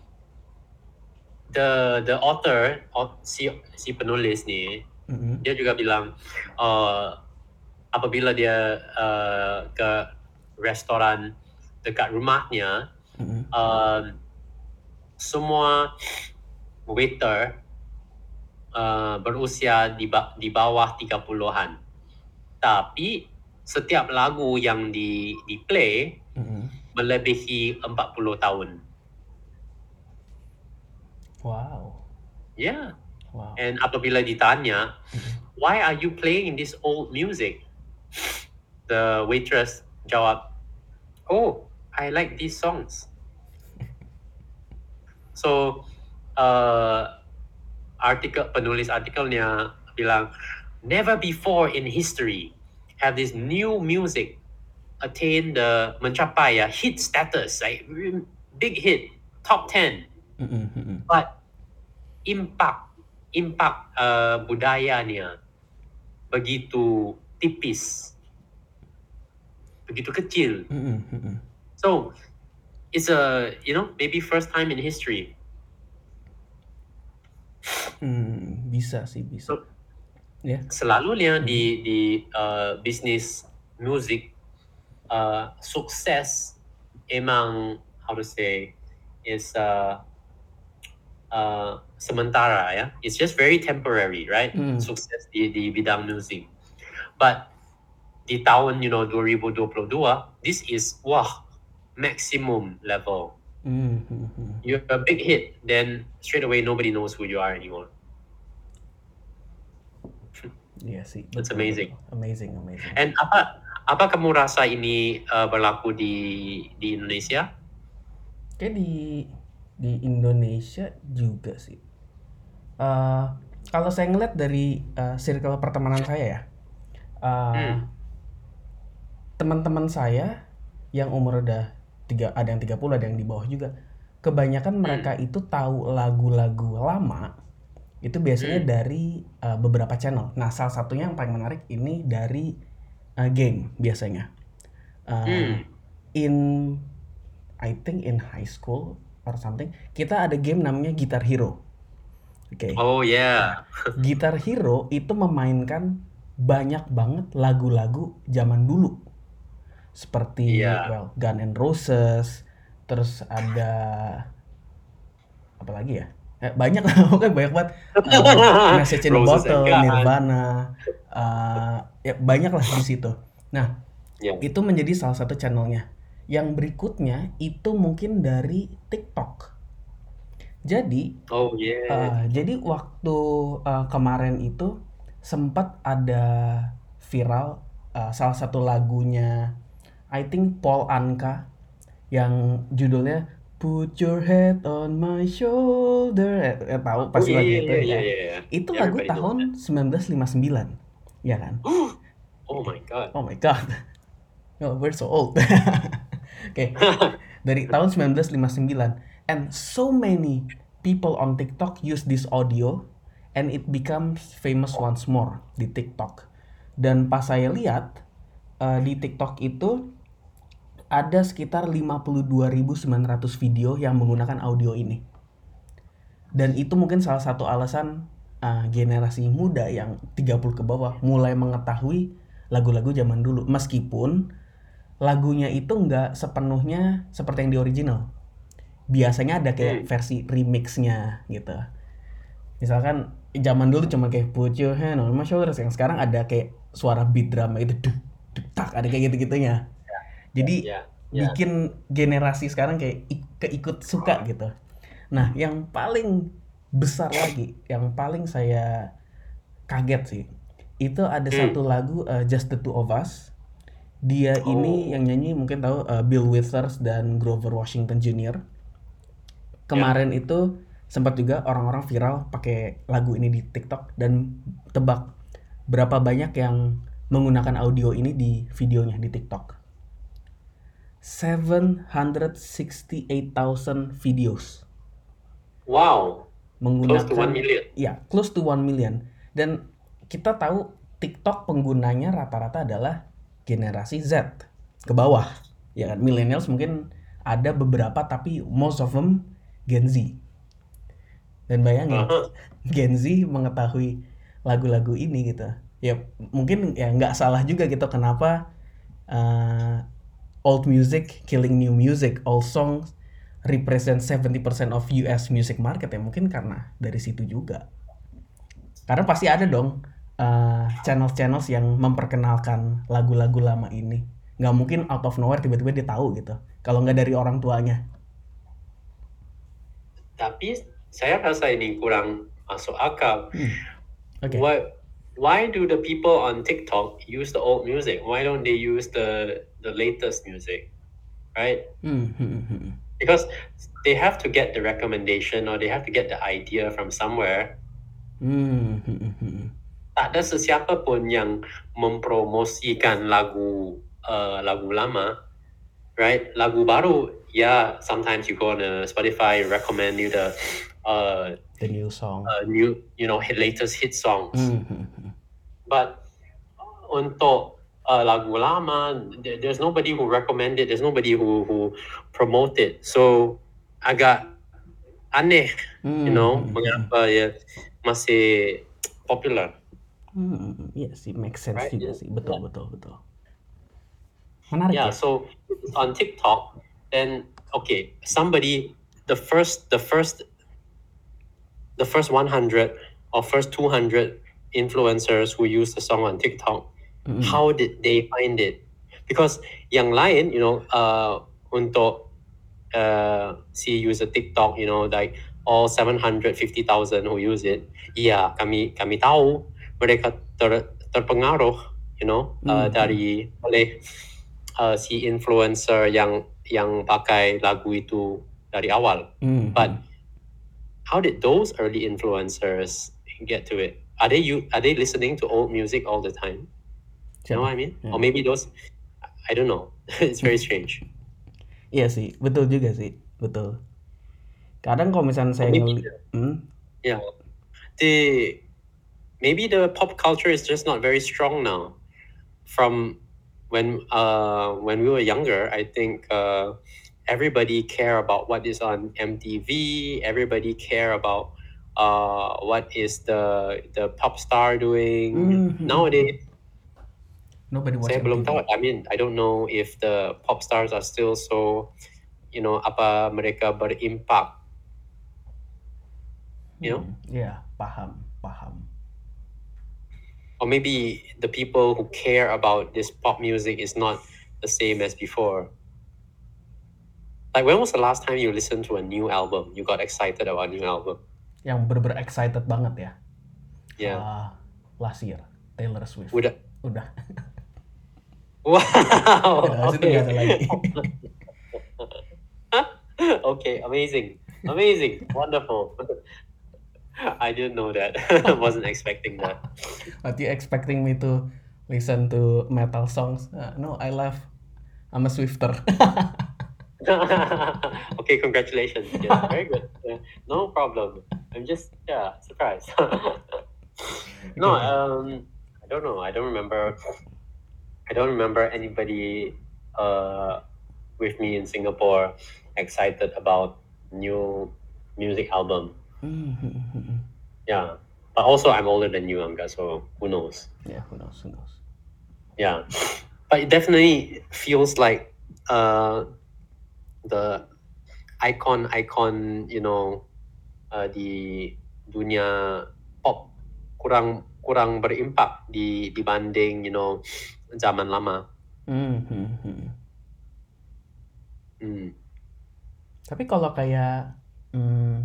the the author, au- si si penulis ni, Mm-mm. dia juga bilang uh, apabila dia uh, ke restoran dekat rumahnya, Mm-mm. uh, semua waiter uh, berusia di, ba- di bawah tiga puluhan. Tapi setiap lagu yang di di play Mm-mm. melebihi empat puluh tahun. Wow. Yeah. Wow. And apabila ditanya, Mm-mm. why are you playing this old music? The waitress jawab, oh, I like these songs. So, uh, artikel penulis artikelnya bilang, never before in history have this new music attained the mencapai ya hit status, like big hit, top ten. Mm-mm. Mm-mm. But impact impact uh, budayanya begitu tipis, begitu kecil. Mm-mm. Mm-mm. So it's a, you know, maybe first time in history. Hmm, bisa sih, bisa. So, Ya. selalunya di di uh, bisnis musik, uh, sukses emang, how to say, is uh, uh, sementara ya. It's just very temporary, right? Hmm. Sukses di di bidang musik. But di tahun, you know, dua ribu dua puluh dua, this is wah maximum level. Hmm. Hmm. Hmm. You're a big hit, then straight away nobody knows who you are anymore. Iya sih. That's betul, amazing. betul. Amazing, amazing. And apa apa kamu rasa ini uh, berlaku di di Indonesia? Kayak di di Indonesia juga sih. Eh, kalau saya ngeliat dari eh, circle pertemanan saya ya, eh, Hmm. teman-teman saya yang umur udah tiga, ada yang tiga puluh, ada yang di bawah juga. Kebanyakan mereka itu tahu lagu-lagu lama itu biasanya Hmm. dari uh, beberapa channel. Nah, salah satunya yang paling menarik ini dari uh, game biasanya. Uh, Hmm. In I think in high school or something, kita ada game namanya Guitar Hero. Oke. Oh yeah. Guitar Hero itu memainkan banyak banget lagu-lagu zaman dulu. Seperti Iya. well, Guns N' Roses, terus ada apa lagi ya? Eh, banyak lah, pokoknya banyak banget. Uh, Message in a Roses and Bottle, Guns. Nirvana, uh, ya banyak lah di situ. Nah, Yeah. itu menjadi salah satu channelnya. Yang berikutnya itu mungkin dari TikTok. Jadi, Oh yeah. uh, jadi waktu uh, kemarin itu sempat ada viral uh, salah satu lagunya, I think Paul Anka, yang judulnya Put Your Head on My Shoulder. Eh, eh, tahu Oh pasti yeah lagu yeah itu yeah yeah ya. yeah yeah. Itu lagu Everybody knows that. tahun sembilan belas lima puluh sembilan, ya kan? Oh my god. Oh my god. Oh, we're so old. Oke, dari tahun sembilan belas lima puluh sembilan, and so many people on TikTok use this audio and it becomes famous once more di TikTok. Dan pas saya lihat uh, di TikTok itu ada sekitar lima puluh dua ribu sembilan ratus video yang menggunakan audio ini. Dan itu mungkin salah satu alasan uh, generasi muda yang tiga puluh ke bawah mulai mengetahui lagu-lagu zaman dulu. Meskipun lagunya itu nggak sepenuhnya seperti yang di original. Biasanya ada kayak Hmm. versi remixnya gitu. Misalkan zaman dulu cuma kayak Put Your Hand on My Shoulders, yang sekarang ada kayak suara beat drama itu duk duk tak, ada kayak gitu-gitunya. Jadi Yeah. Yeah. bikin generasi sekarang kayak ik- keikut suka gitu. Nah, yang paling besar lagi, yang paling saya kaget sih, itu ada Hmm. satu lagu uh, Just the Two of Us. Dia ini Oh. yang nyanyi mungkin tahu, uh, Bill Withers dan Grover Washington Junior Kemarin itu sempat juga orang-orang viral pakai lagu ini di TikTok, dan tebak berapa banyak yang menggunakan audio ini di videonya di TikTok? seven hundred sixty-eight thousand videos Wow. menggunakan, Close to one million. ya, close to one million. Dan kita tahu TikTok penggunanya rata-rata adalah generasi Z ke bawah, ya kan? Millennials mungkin ada beberapa, tapi most of them Gen Z. Dan bayangin, Uh-huh. Gen Z mengetahui lagu-lagu ini gitu. Ya mungkin ya nggak salah juga gitu, kenapa uh, old music killing new music, old songs represent seventy percent of U S music market, ya mungkin karena dari situ juga. Karena pasti ada dong uh, channel-channel yang memperkenalkan lagu-lagu lama ini. Nggak mungkin out of nowhere tiba-tiba dia tahu gitu, kalau nggak dari orang tuanya. Tapi saya rasa ini kurang masuk akal. Hmm. Okay. What? Why do the people on TikTok use the old music? Why don't they use the the latest music? Right? Hmm, hmm, hmm. Because they have to get the recommendation or they have to get the idea from somewhere. Hmm, hmm, hmm. Tak ada sesiapa pun yang mempromosikan lagu uh, lagu lama, right? Lagu baru, yeah. Sometimes you go on a Spotify, recommend you the uh, The new song. uh, new, you know, hit, latest hit songs. Hmm, hmm, hmm. But untuk uh, lagu lama, there- there's nobody who recommend it. There's nobody who who promote it. So agak aneh, Hmm, you know, hmm, hmm. mengapa ya masih popular. Hmm, iya sih, make sense Right, juga yeah. sih, betul, betul, betul. Menarik Yeah, ya. so on TikTok, then okay, somebody the first the first the first one hundred or first two hundred influencers who use the song on TikTok, Hmm. how did they find it? Because yang lain, you know, uh, untuk uh, si user TikTok, you know, like all seven hundred fifty thousand who use it, iya, kami kami tahu mereka ter, terpengaruh, you know, uh, Hmm. dari oleh uh, si influencer yang yang pakai lagu itu dari awal. Hmm. But how did those early influencers get to it? Are they you are they listening to old music all the time? You know what I mean? Yeah. Or maybe those, I don't know. It's very strange. Iya sih, betul juga sih, betul. Kadang kalau misalnya saya maybe- ngeli, hmm? Yeah, the maybe the pop culture is just not very strong now. From when uh when we were younger, I think uh, everybody care about what is on M T V. Everybody care about uh what is the the pop star doing. Mhm. Nowadays, Nobody watch saya M T V. belum tahu. I mean, I don't know if the pop stars are still so, you know, apa mereka berimpak. you know? Hmm, ya, paham, paham. Or maybe the people who care about this pop music is not the same as before. Like, when was the last time you listened to a new album? You got excited about a new album? Yang bener-bener excited banget ya. Yeah. Uh, last year, Taylor Swift. Udah. Udah. Wow. Udah, habis itu nggak ada lagi. Okay, amazing. Amazing. Wonderful. I didn't know that. Wasn't expecting that. But you expecting me to listen to metal songs? Uh, no, I love. I'm a Swifter. Okay, congratulations. Yeah, very good. Yeah, no problem. I'm just yeah surprised. No, Okay. um, I don't know. I don't remember. I don't remember anybody uh with me in Singapore excited about new music album. Mm-hmm. Yeah, but also I'm older than you, Angga. So who knows? Yeah, who knows? Who knows? Yeah, but it definitely feels like uh the icon icon you know uh, di dunia pop kurang kurang berimpak di dibanding you know zaman lama. Mm-hmm. Hmm. Tapi kalau kayak hmm,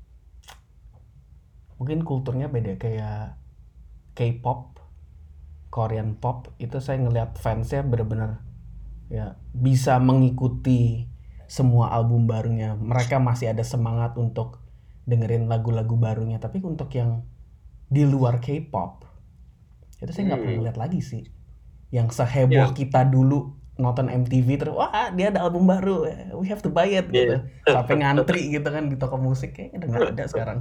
mungkin kulturnya beda, kayak K-pop, Korean pop, itu saya ngelihat fansnya bener-bener ya bisa mengikuti semua album barunya. Mereka masih ada semangat untuk dengerin lagu-lagu barunya. Tapi untuk yang di luar K-pop, itu saya nggak Hmm. pernah ngeliat lagi sih. Yang seheboh Yeah. kita dulu nonton M T V terus, wah dia ada album baru, we have to buy it gitu. Yeah. Sampai ngantri gitu kan di toko musik, kayaknya udah nggak ada sekarang.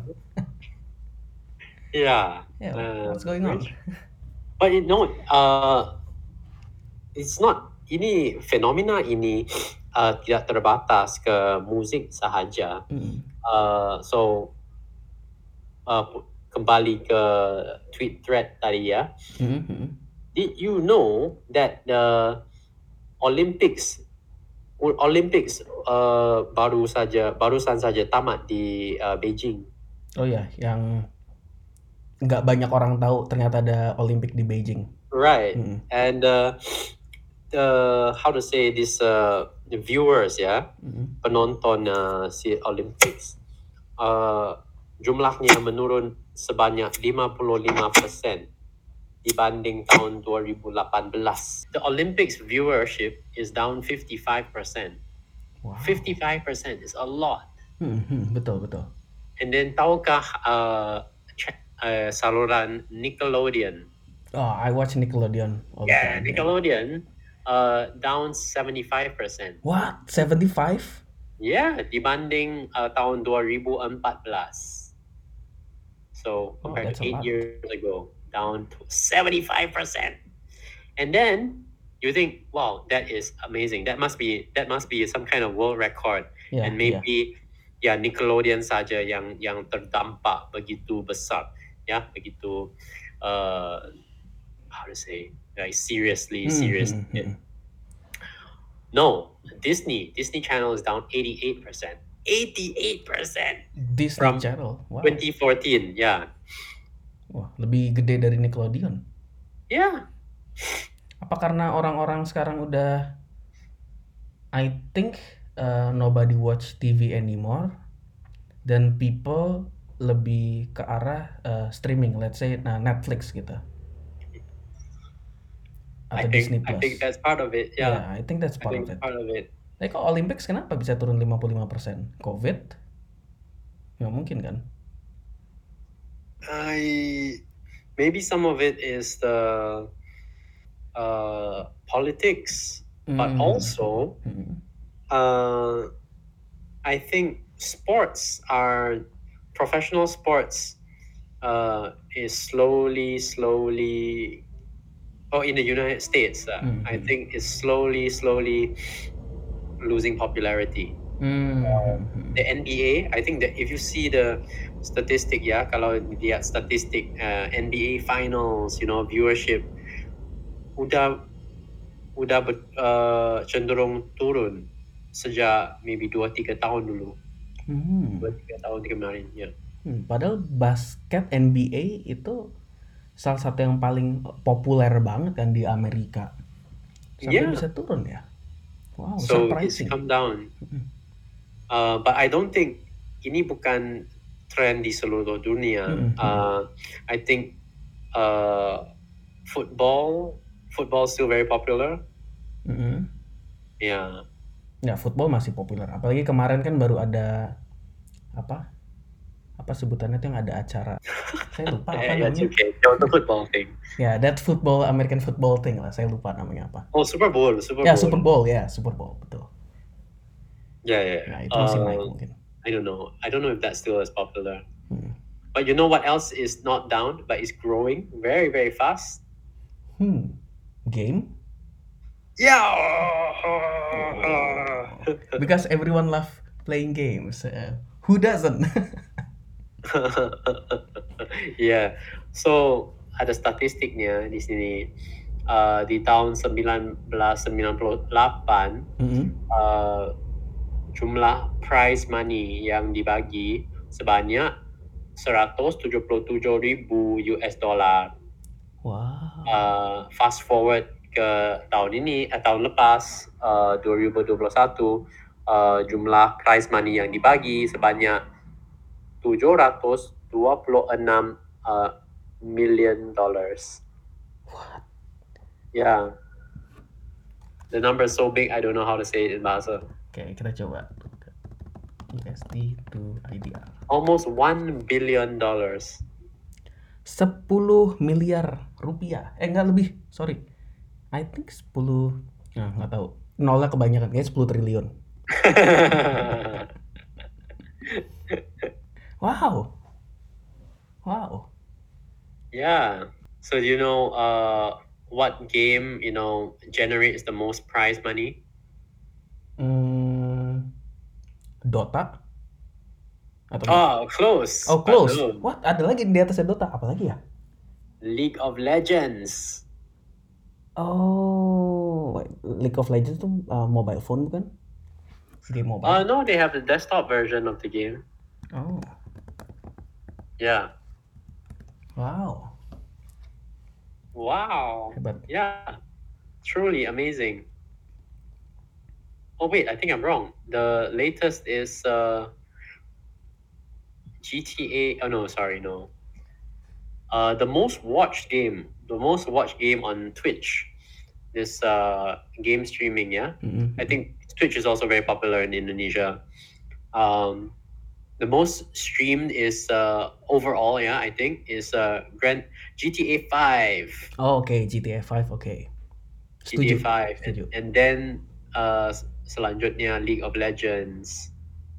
Yeah. Yeah, Uh, what's going on? But you know, uh, it's not ini fenomena ini uh, tidak terbatas ke musik sahaja. Mm. Uh, so uh, kembali ke tweet thread tadi ya. Mm-hmm. Did you know that the Olympics Olympics uh, baru saja barusan saja tamat di uh, Beijing? Oh ya, yang nggak banyak orang tahu ternyata ada Olimpik di Beijing. Right. Mm-hmm. And uh, uh, how to say this uh, viewers ya, Mm-hmm. penonton uh, si Olympics uh, jumlahnya menurun sebanyak lima puluh lima persen dibanding tahun dua ribu lapan belas. The Olympics viewership is down fifty-five percent. Wow. fifty-five percent is a lot. Mm-hmm. Betul betul. And then tahukah uh, ch- uh, saluran Nickelodeon? Oh, I watch Nickelodeon all the Yeah, time. Nickelodeon uh, down seventy-five percent. What? seventy-five? Yeah, dibanding uh, tahun dua ribu empat belas. So Oh, compared that's to a eight lot. years ago, down to seventy-five percent. And then you think, wow, that is amazing. That must be that must be some kind of world record. Yeah, And maybe ya Nickelodeon saja yang yang terdampak begitu besar, ya begitu uh, how to say like seriously serious. Mm-hmm. No, Disney Disney Channel is down eighty-eight percent. eighty-eight percent Disney from Channel. Wow. twenty fourteen. Yeah. Wah, lebih gede dari Nickelodeon. Yeah. Apa karena orang-orang sekarang udah, I think uh, nobody watch T V anymore, dan people lebih ke arah uh, streaming, let's say nah, Netflix gitu. I Atau think Disney I Plus. think that's part of it. Yeah. Yeah, I think that's I part think of it. part of it. Tapi kok Olympics kenapa bisa turun lima puluh lima persen? Covid? Nggak mungkin kan? I maybe some of it is the uh, politics, but Mm. also Mm. uh, I think sports are professional sports uh, is slowly, slowly. Oh, in the United States, uh, Mhm. I think is slowly, slowly losing popularity. Mm. The N B A, I think that if you see the statistic, ya, kalau lihat statistik uh, N B A finals, you know, viewership udah udah ber, uh, cenderung turun sejak maybe dua tiga tahun dulu. Mm. dua tiga tahun kemarin, ya. Hmm, padahal basket N B A itu salah satu yang paling populer banget kan di Amerika. Sampai Yeah. bisa turun ya. Wow, So it's surprising. come down. Uh, but I don't think ini bukan trend di seluruh dunia. Mm-mm, mm-mm. Uh, I think uh, football football is still very popular. Mm-mm. Yeah. Ya, football masih populer. Apalagi kemarin kan baru ada apa? Apa sebutannya tuh yang ada acara. Saya lupa apa Yeah, it's namanya. okay. There was a football thing. Ya, that football American football thing lah. Saya lupa namanya apa. Oh, Super Bowl, Super Ya, Bowl. Super Bowl ya, Super Bowl betul. Yeah, yeah. Nah, itu masih naik Uh, mungkin. I don't know. I don't know if that's still as popular. Hmm. But you know what else is not down, but is growing very, very fast? Hmm. Game? Yeah. Because everyone love playing games. Uh, who doesn't? Yeah. So ada statistiknya di sini. Uh, di tahun sembilan belas sembilan puluh delapan, Mm-hmm. uh, jumlah prize money yang dibagi sebanyak seratus tujuh puluh tujuh ribu U S dollar. Wow. Uh, fast forward ke tahun ini, eh, tahun lepas, uh, dua ribu dua puluh satu, uh, jumlah prize money yang dibagi sebanyak tujuh ratus dua puluh enam uh, million dollars. What? Yeah. The number is so big, I don't know how to say it in bahasa. Oke, kita coba. U S D to I D R. Almost one billion dollars. sepuluh miliar rupiah. Eh, enggak lebih. Sorry. I think sepuluh. Nah, nggak tahu. Nolnya kebanyakan. Kayaknya sepuluh triliun. Wow. Wow. Yeah. So do you know uh, what game, you know, generates the most prize money? Hmm, Dota? Atau enggak? Oh, close. Oh, but close. no. What? Ada lagi di atasnya Dota? Apa lagi ya? League of Legends. Oh, wait, League of Legends tuh uh, mobile phone bukan? Game mobile. Uh, no, they have the desktop version of the game. Oh, Yeah. wow. Wow. Hebat. Yeah. Truly amazing. Oh, wait, I think I'm wrong. The latest is uh, G T A. Oh, no, sorry, no. Uh, the most watched game, the most watched game on Twitch, this uh, game streaming, yeah? Mm-mm. I think Twitch is also very popular in Indonesia. Um, the most streamed is uh, overall, yeah, I think, is uh, Grand G T A five. Oh, oke, G T A five, oke. G T A Setuju. five. And, Setuju. and then uh, selanjutnya League of Legends.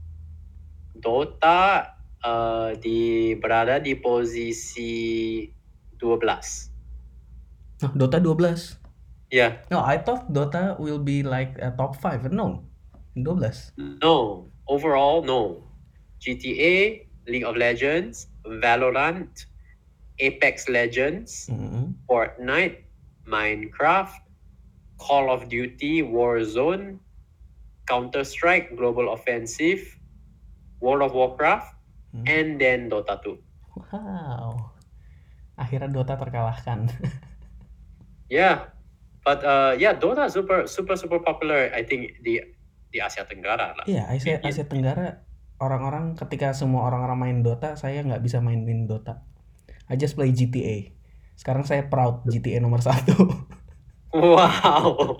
Dota uh, di berada di posisi dua belas. Nah, Dota dua belas. Yeah. No, I thought Dota will be like a top five. No, dua belas. No. Overall, no. G T A, League of Legends, Valorant, Apex Legends, Mm-mm. Fortnite, Minecraft, Call of Duty, Warzone, Counter-Strike, Global Offensive, World of Warcraft, Hmm. and then Dota two. Wow. Akhirnya Dota terkalahkan. Yeah, but uh, yeah, Dota is super, super, super popular. I think di di Asia Tenggara lah. Iya, Asia, Di- Asia Tenggara orang-orang ketika semua orang-orang main Dota, saya nggak bisa main-main Dota. I just play G T A. Sekarang saya proud G T A nomor satu. Wow.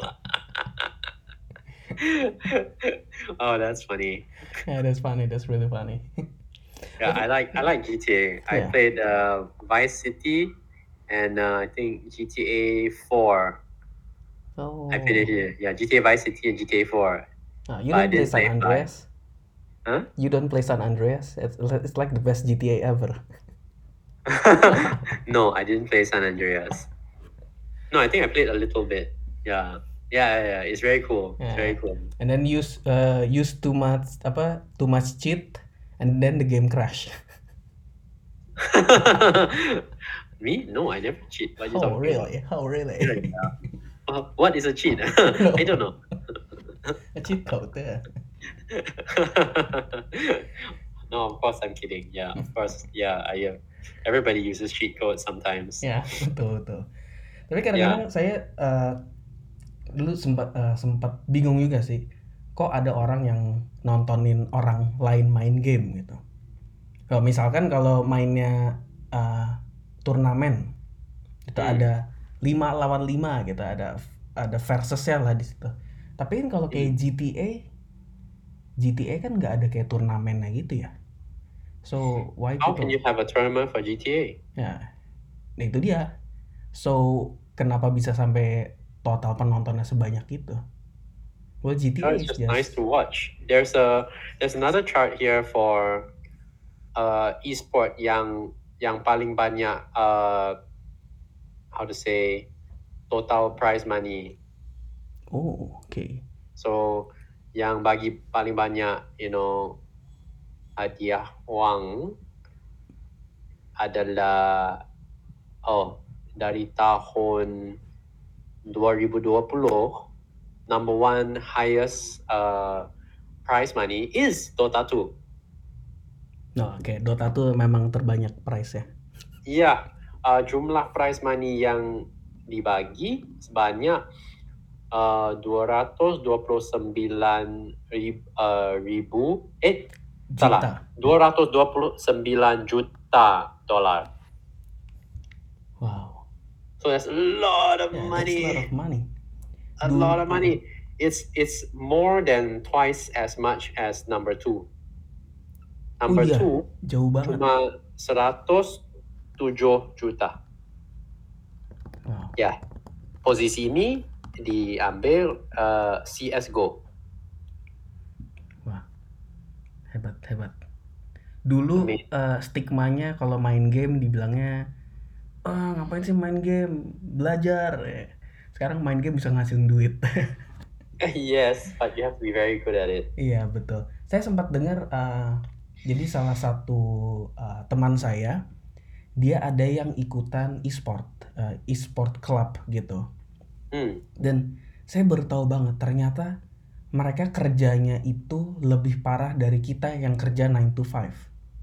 Oh, that's funny. Yeah, that's funny. That's really funny. Yeah, I like I like G T A. I Yeah. played uh, Vice City, and uh, I think G T A four. Oh. I played it here. Yeah, G T A Vice City and G T A four. Nah, you But I don't play didn't San play five. Andreas? Huh? You don't play San Andreas? It's, it's like the best G T A ever. No, I didn't play San Andreas. No, I think I played a little bit. Yeah, yeah, yeah. yeah. It's very cool. It's very Yeah. cool. And then use uh, use too much apa too much cheat, and then the game crash. Me? No, I never cheat. What are you Oh talking about? really? Oh really? Uh, what is a cheat? I don't know. A cheat code, yeah. No, of course I'm kidding. Yeah, of course. Yeah, I uh, everybody uses cheat codes sometimes. Ya, betul betul. Tapi kadang-kadang Yeah. saya eh, dulu sempat eh, sempat bingung juga sih. Kok ada orang yang nontonin orang lain main game gitu. Kalau misalkan kalau mainnya eh, turnamen itu Hmm. ada lima lawan lima gitu, ada ada versusnya lah di situ. Tapi kan kalau kayak Hmm. G T A G T A kan nggak ada kayak turnamennya gitu ya. So why How can people you have a tournament for G T A? ya nah itu dia. So kenapa bisa sampai total penontonnya sebanyak itu? Well, Oh, G T A it's is just nice just to watch. There's a there's another chart here for uh esport yang yang paling banyak uh how to say total prize money. oh oke okay. So yang bagi paling banyak, you know, hadiah uang adalah oh dari tahun dua ribu dua puluh number one highest uh, prize money is Dota two. No, oke okay. Dota tuh memang terbanyak price ya. Iya, uh, jumlah prize money yang dibagi sebanyak uh, dua ratus dua puluh sembilan ribu, uh, ribu eh Juta. salah dua ratus dua puluh sembilan juta dolar. Wow. So that's a lot of Yeah, money. that's a lot of money. A Dulu- lot of money. It's it's more than twice as much as number two. Number Oh iya, two jauh banget. cuma seratus tujuh juta. Wow. Ya, posisi ini diambil uh, C S G O. Wah, hebat hebat. Dulu Amin. eh, stigmanya kalau main game dibilangnya, ah ngapain sih main game, belajar. Eh, Sekarang main game bisa ngasilin duit. Yes, but you have to be very good at it. Iya betul. Saya sempat dengar, eh, jadi salah satu eh, teman saya, dia ada yang ikutan e-sport, eh, e-sport club gitu. Hmm. Dan saya baru tahu banget ternyata mereka kerjanya itu lebih parah dari kita yang kerja nine to five.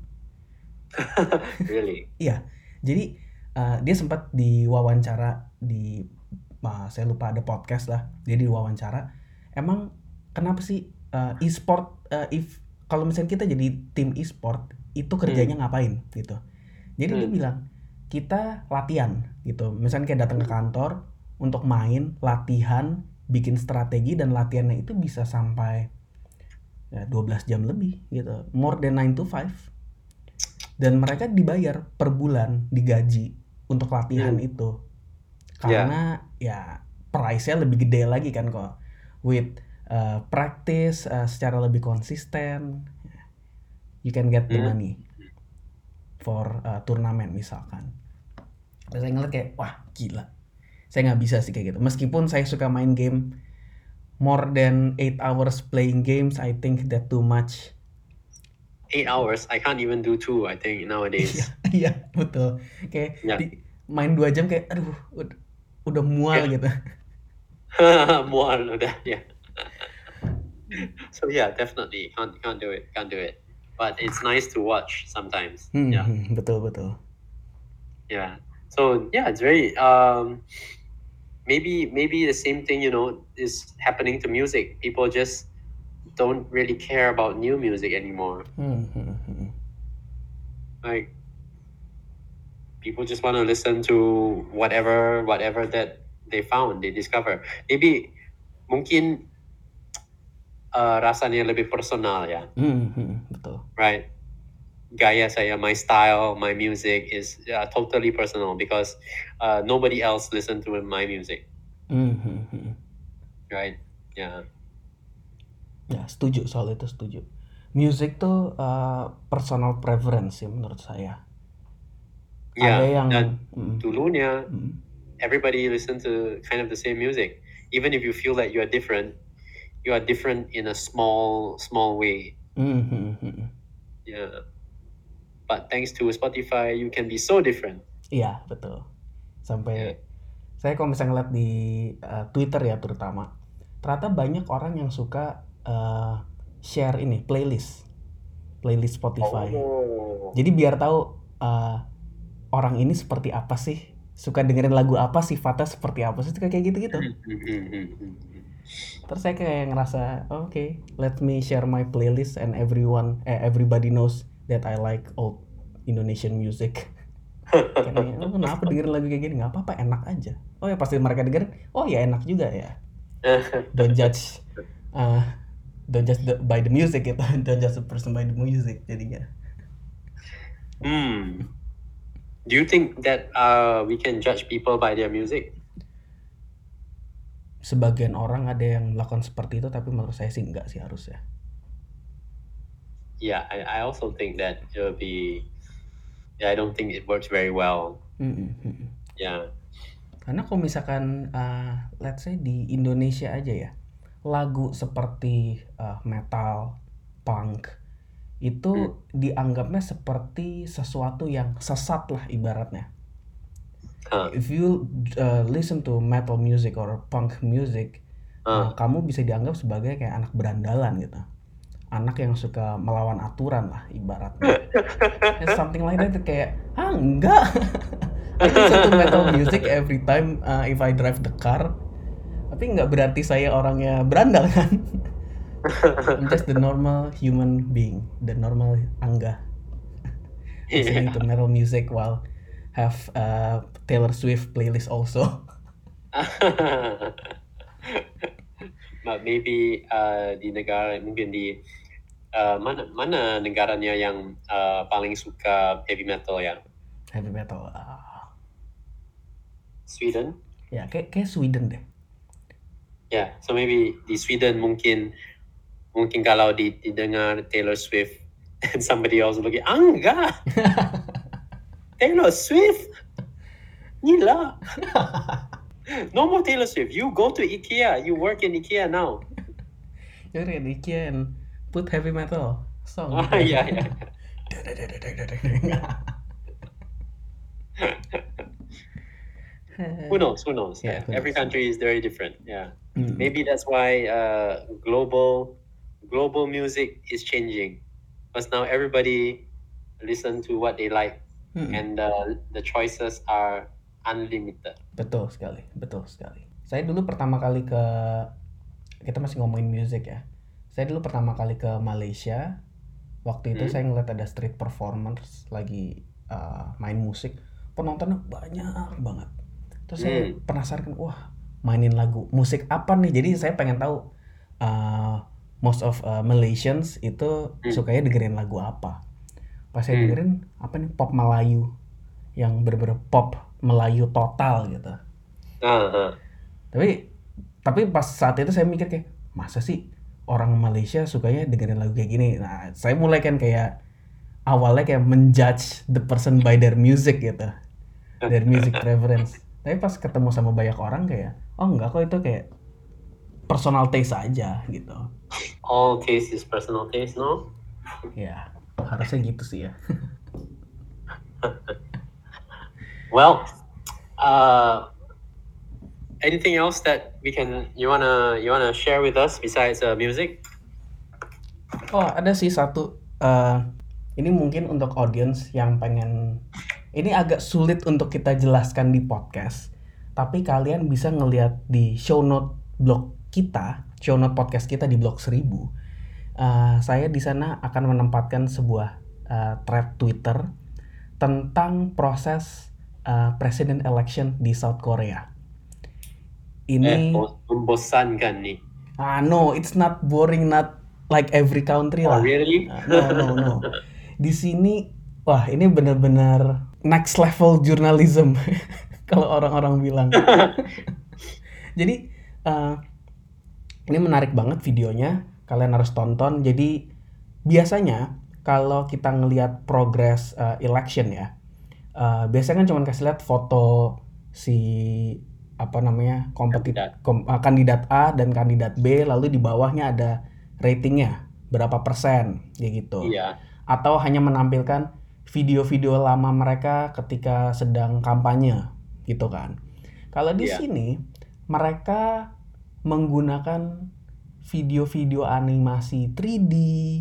Really? Iya. Jadi uh, dia sempat diwawancara di uh, saya lupa ada podcast lah. Dia diwawancara. Emang kenapa sih uh, e-sport uh, if kalau misalnya kita jadi tim e-sport itu kerjanya ngapain gitu. Jadi dia Hmm. bilang kita latihan gitu. Misalnya kayak datang ke kantor untuk main, latihan, bikin strategi dan latihannya itu bisa sampai ya, dua belas jam lebih gitu. More than nine to five. Dan mereka dibayar per bulan, digaji untuk latihan Hmm. itu. Karena ya price-nya lebih gede lagi kan kok. With uh, practice uh, secara lebih konsisten, you can get the Hmm. money for uh, turnamen misalkan. Dan saya ngeliat kayak wah gila. Saya nggak bisa sih kayak gitu. Meskipun saya suka main game more than eight hours playing games, I think that too much. Eight hours. I can't even do two. I think Iya, nowadays. iya betul. Kayak Ya. di- main dua jam kayak aduh udah, udah mual Ya. gitu. Mual udah. Yeah. So yeah, definitely can't can't do it. Can't do it. But it's nice to watch sometimes. Hmm, Yeah. hmm, betul betul. Yeah. So yeah, it's very um maybe maybe the same thing, you know, is happening to music. People just don't really care about new music anymore. Hmm, hmm, hmm. Like people just want to listen to whatever whatever that they found, they discover. Maybe mungkin uh, rasanya lebih personal ya, Hmm, hmm, betul. right? Gaya saya, my style, my music is uh, totally personal because uh, nobody else listen to my music, Hmm, hmm, hmm. right? Yeah. Ya setuju soal itu, setuju. Music tuh uh, personal preference ya menurut saya. Yeah. Ada yang Dan hmm, dulunya hmm. everybody listen to kind of the same music, even if you feel that you are different. You are different in a small small way. Hmm, hmm, hmm. Yeah. But thanks to Spotify, you can be so different. Iya betul. Sampai Yeah. saya kalau misalnya ngeliat di uh, Twitter ya terutama, ternyata banyak orang yang suka uh, share ini playlist. playlist Spotify. Oh. Jadi biar tahu uh, orang ini seperti apa sih, suka dengerin lagu apa, sifatnya seperti apa sih, kayak gitu-gitu. Terus saya kayak ngerasa, oke, okay, let me share my playlist and everyone, eh, everybody knows that I like old Indonesian music. Kayak, oh, kenapa dengerin lagu kayak gini? Nggak apa-apa, enak aja. Oh ya pasti mereka dengerin, oh ya enak juga ya. Don't judge, uh, don't judge the, by the music gitu, don't judge the person by the music jadinya. Hmm. Do you think that uh, we can judge people by their music? Sebagian orang ada yang melakukan seperti itu, tapi menurut saya sih enggak sih harusnya. Yeah, I, I also think that it will be. Yeah, I don't think it works very well. Mm-mm. Yeah. Karena kalau misalkan, uh, let's say di Indonesia aja ya, lagu seperti uh, metal, punk itu hmm. dianggapnya seperti sesuatu yang sesat lah ibaratnya. Huh. If you uh, listen to metal music or punk music, huh. uh, kamu bisa dianggap sebagai kayak anak berandalan gitu, anak yang suka melawan aturan lah ibaratnya. Something like that, kayak ah enggak. I listen to metal music every time uh, if I drive the car, tapi nggak berarti saya orangnya berandal kan. I'm just the normal human being, the normal Angga, listening yeah. to metal music while have uh, Taylor Swift playlist also. But maybe uh, di negara mungkin di uh, mana mana negaranya yang uh, paling suka heavy metal ya? Heavy metal. Uh... Sweden? Ya, kayak kayak Sweden deh. Ya, yeah, so maybe di Sweden mungkin mungkin kalau didengar Taylor Swift and somebody else looking, ah, enggak. Taylor Swift? Gila. No more Taylor Swift. You go to IKEA. You work in IKEA now. You work in IKEA and put heavy metal song. Oh, yeah, yeah. Who knows? Who knows? Yeah, who Every knows. country is very different. Yeah, mm. Maybe that's why uh, global global music is changing, because now everybody listen to what they like, mm. and uh, the choices are unlimited. Betul sekali, betul sekali. Saya dulu pertama kali ke, kita masih ngomongin music ya. Saya dulu pertama kali ke Malaysia. Waktu itu hmm. saya ngeliat ada street performers lagi uh, main musik, penontonnya banyak banget. Terus hmm. saya penasaran, wah mainin lagu musik apa nih? Jadi saya pengen tahu uh, most of uh, Malaysians itu hmm. sukanya dengerin lagu apa. Pas saya hmm. dengerin apa nih, pop Melayu yang bener-bener pop Melayu total gitu. Uh-huh. Tapi tapi pas saat itu saya mikir kayak, masa sih orang Malaysia sukanya dengerin lagu kayak gini? Nah, saya mulai kan kayak awalnya kayak menjudge the person by their music gitu, their music preference. Tapi pas ketemu sama banyak orang kayak, oh enggak kok, itu kayak personal taste aja gitu. All taste is personal taste, no? Ya, harusnya gitu sih ya. Well, uh, anything else that we can you wanna you wanna share with us besides uh, music? Oh, ada sih satu. Uh, ini mungkin untuk audience yang pengen. Ini agak sulit untuk kita jelaskan di podcast, tapi kalian bisa ngelihat di show note blog kita, show note podcast kita di blog seribu. Uh, saya di sana akan menempatkan sebuah uh, thread Twitter tentang proses uh, president election di South Korea. Ini eh, membosankan nih. Ah no, it's not boring, not like every country oh, lah. Really? Uh, no no no. Di sini, wah ini benar-benar next level journalism kalau orang-orang bilang. Jadi uh, ini menarik banget videonya, kalian harus tonton. Jadi biasanya kalau kita ngelihat progress uh, election ya, uh, biasanya kan cuma kasih lihat foto si apa namanya kompetitor kom, uh, kandidat A dan kandidat B, lalu di bawahnya ada ratingnya berapa persen gitu. Iya. Atau hanya menampilkan video-video lama mereka ketika sedang kampanye gitu kan. Kalau di yeah. sini mereka menggunakan video-video animasi tiga D,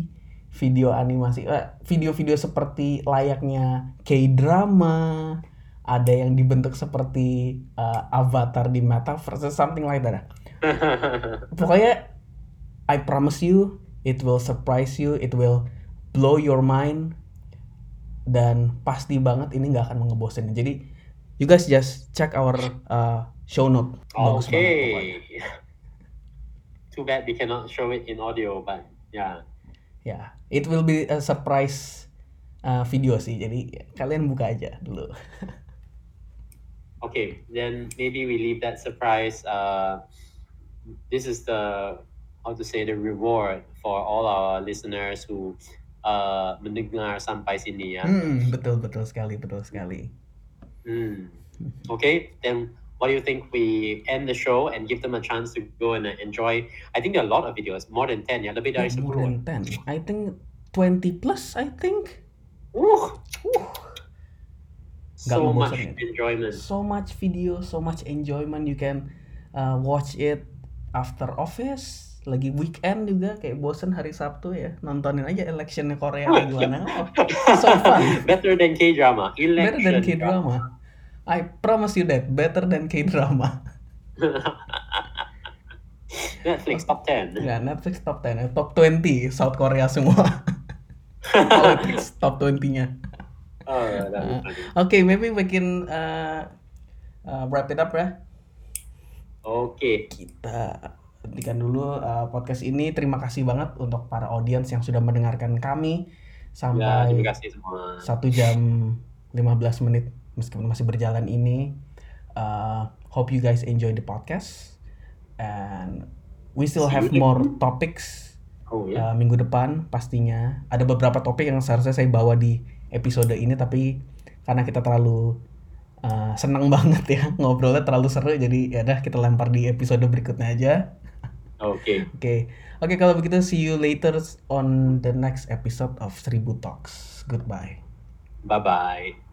video animasi, eh, video-video seperti layaknya K-drama, ada yang dibentuk seperti uh, avatar di metaverse, something like that. Pokoknya I promise you, it will surprise you, it will blow your mind, dan pasti banget ini nggak akan ngebosenin. Jadi you guys just check our uh, show note. Bagus banget pokoknya. Okay. Too bad we cannot show it in audio, but yeah. Ya, it will be a surprise uh, video sih. Jadi kalian buka aja dulu. Okay, then maybe we leave that surprise. Uh, this is the, how to say, the reward for all our listeners who uh, mendengar sampai sini ya. Hmm, betul betul sekali, betul sekali. Hmm. Okay, then what do you think we end the show and give them a chance to go and uh, enjoy? I think there are a lot of videos, more than ten ya, lebih dari Yeah, more sepuluh. than ten. I think twenty plus, I think. Uh, Uh, Nggak so much ngebosenin. enjoyment. So much video, so much enjoyment. You can uh, watch it after office, lagi weekend juga, kayak bosen hari Sabtu ya, nontonin aja electionnya Korea kayak gimana. Oh, it's so fun. Better than K-drama. Better than Election K-drama. I promise you that, better than K-drama. Netflix top ten. Nggak, Netflix top ten, eh, top twenty South Korea semua. Politics top twenty-nya. Oh, that'd be Uh, funny. okay, maybe we can uh, uh, wrap it up ya. Okay. Kita hentikan dulu uh, podcast ini. Terima kasih banget untuk para audiens yang sudah mendengarkan kami Ya, sampai terima kasih semua. satu jam lima belas menit meskipun masih berjalan ini. Uh, hope you guys enjoy the podcast, and we still See have you more next- topics Oh ya. uh, minggu depan pastinya. Ada beberapa topik yang seharusnya saya bawa di episode ini, tapi karena kita terlalu uh, senang banget ya ngobrolnya, terlalu seru, jadi ya udah kita lempar di episode berikutnya aja. Okay. Oke, oke kalau begitu see you later on the next episode of Seribu Talks. Goodbye. Bye bye.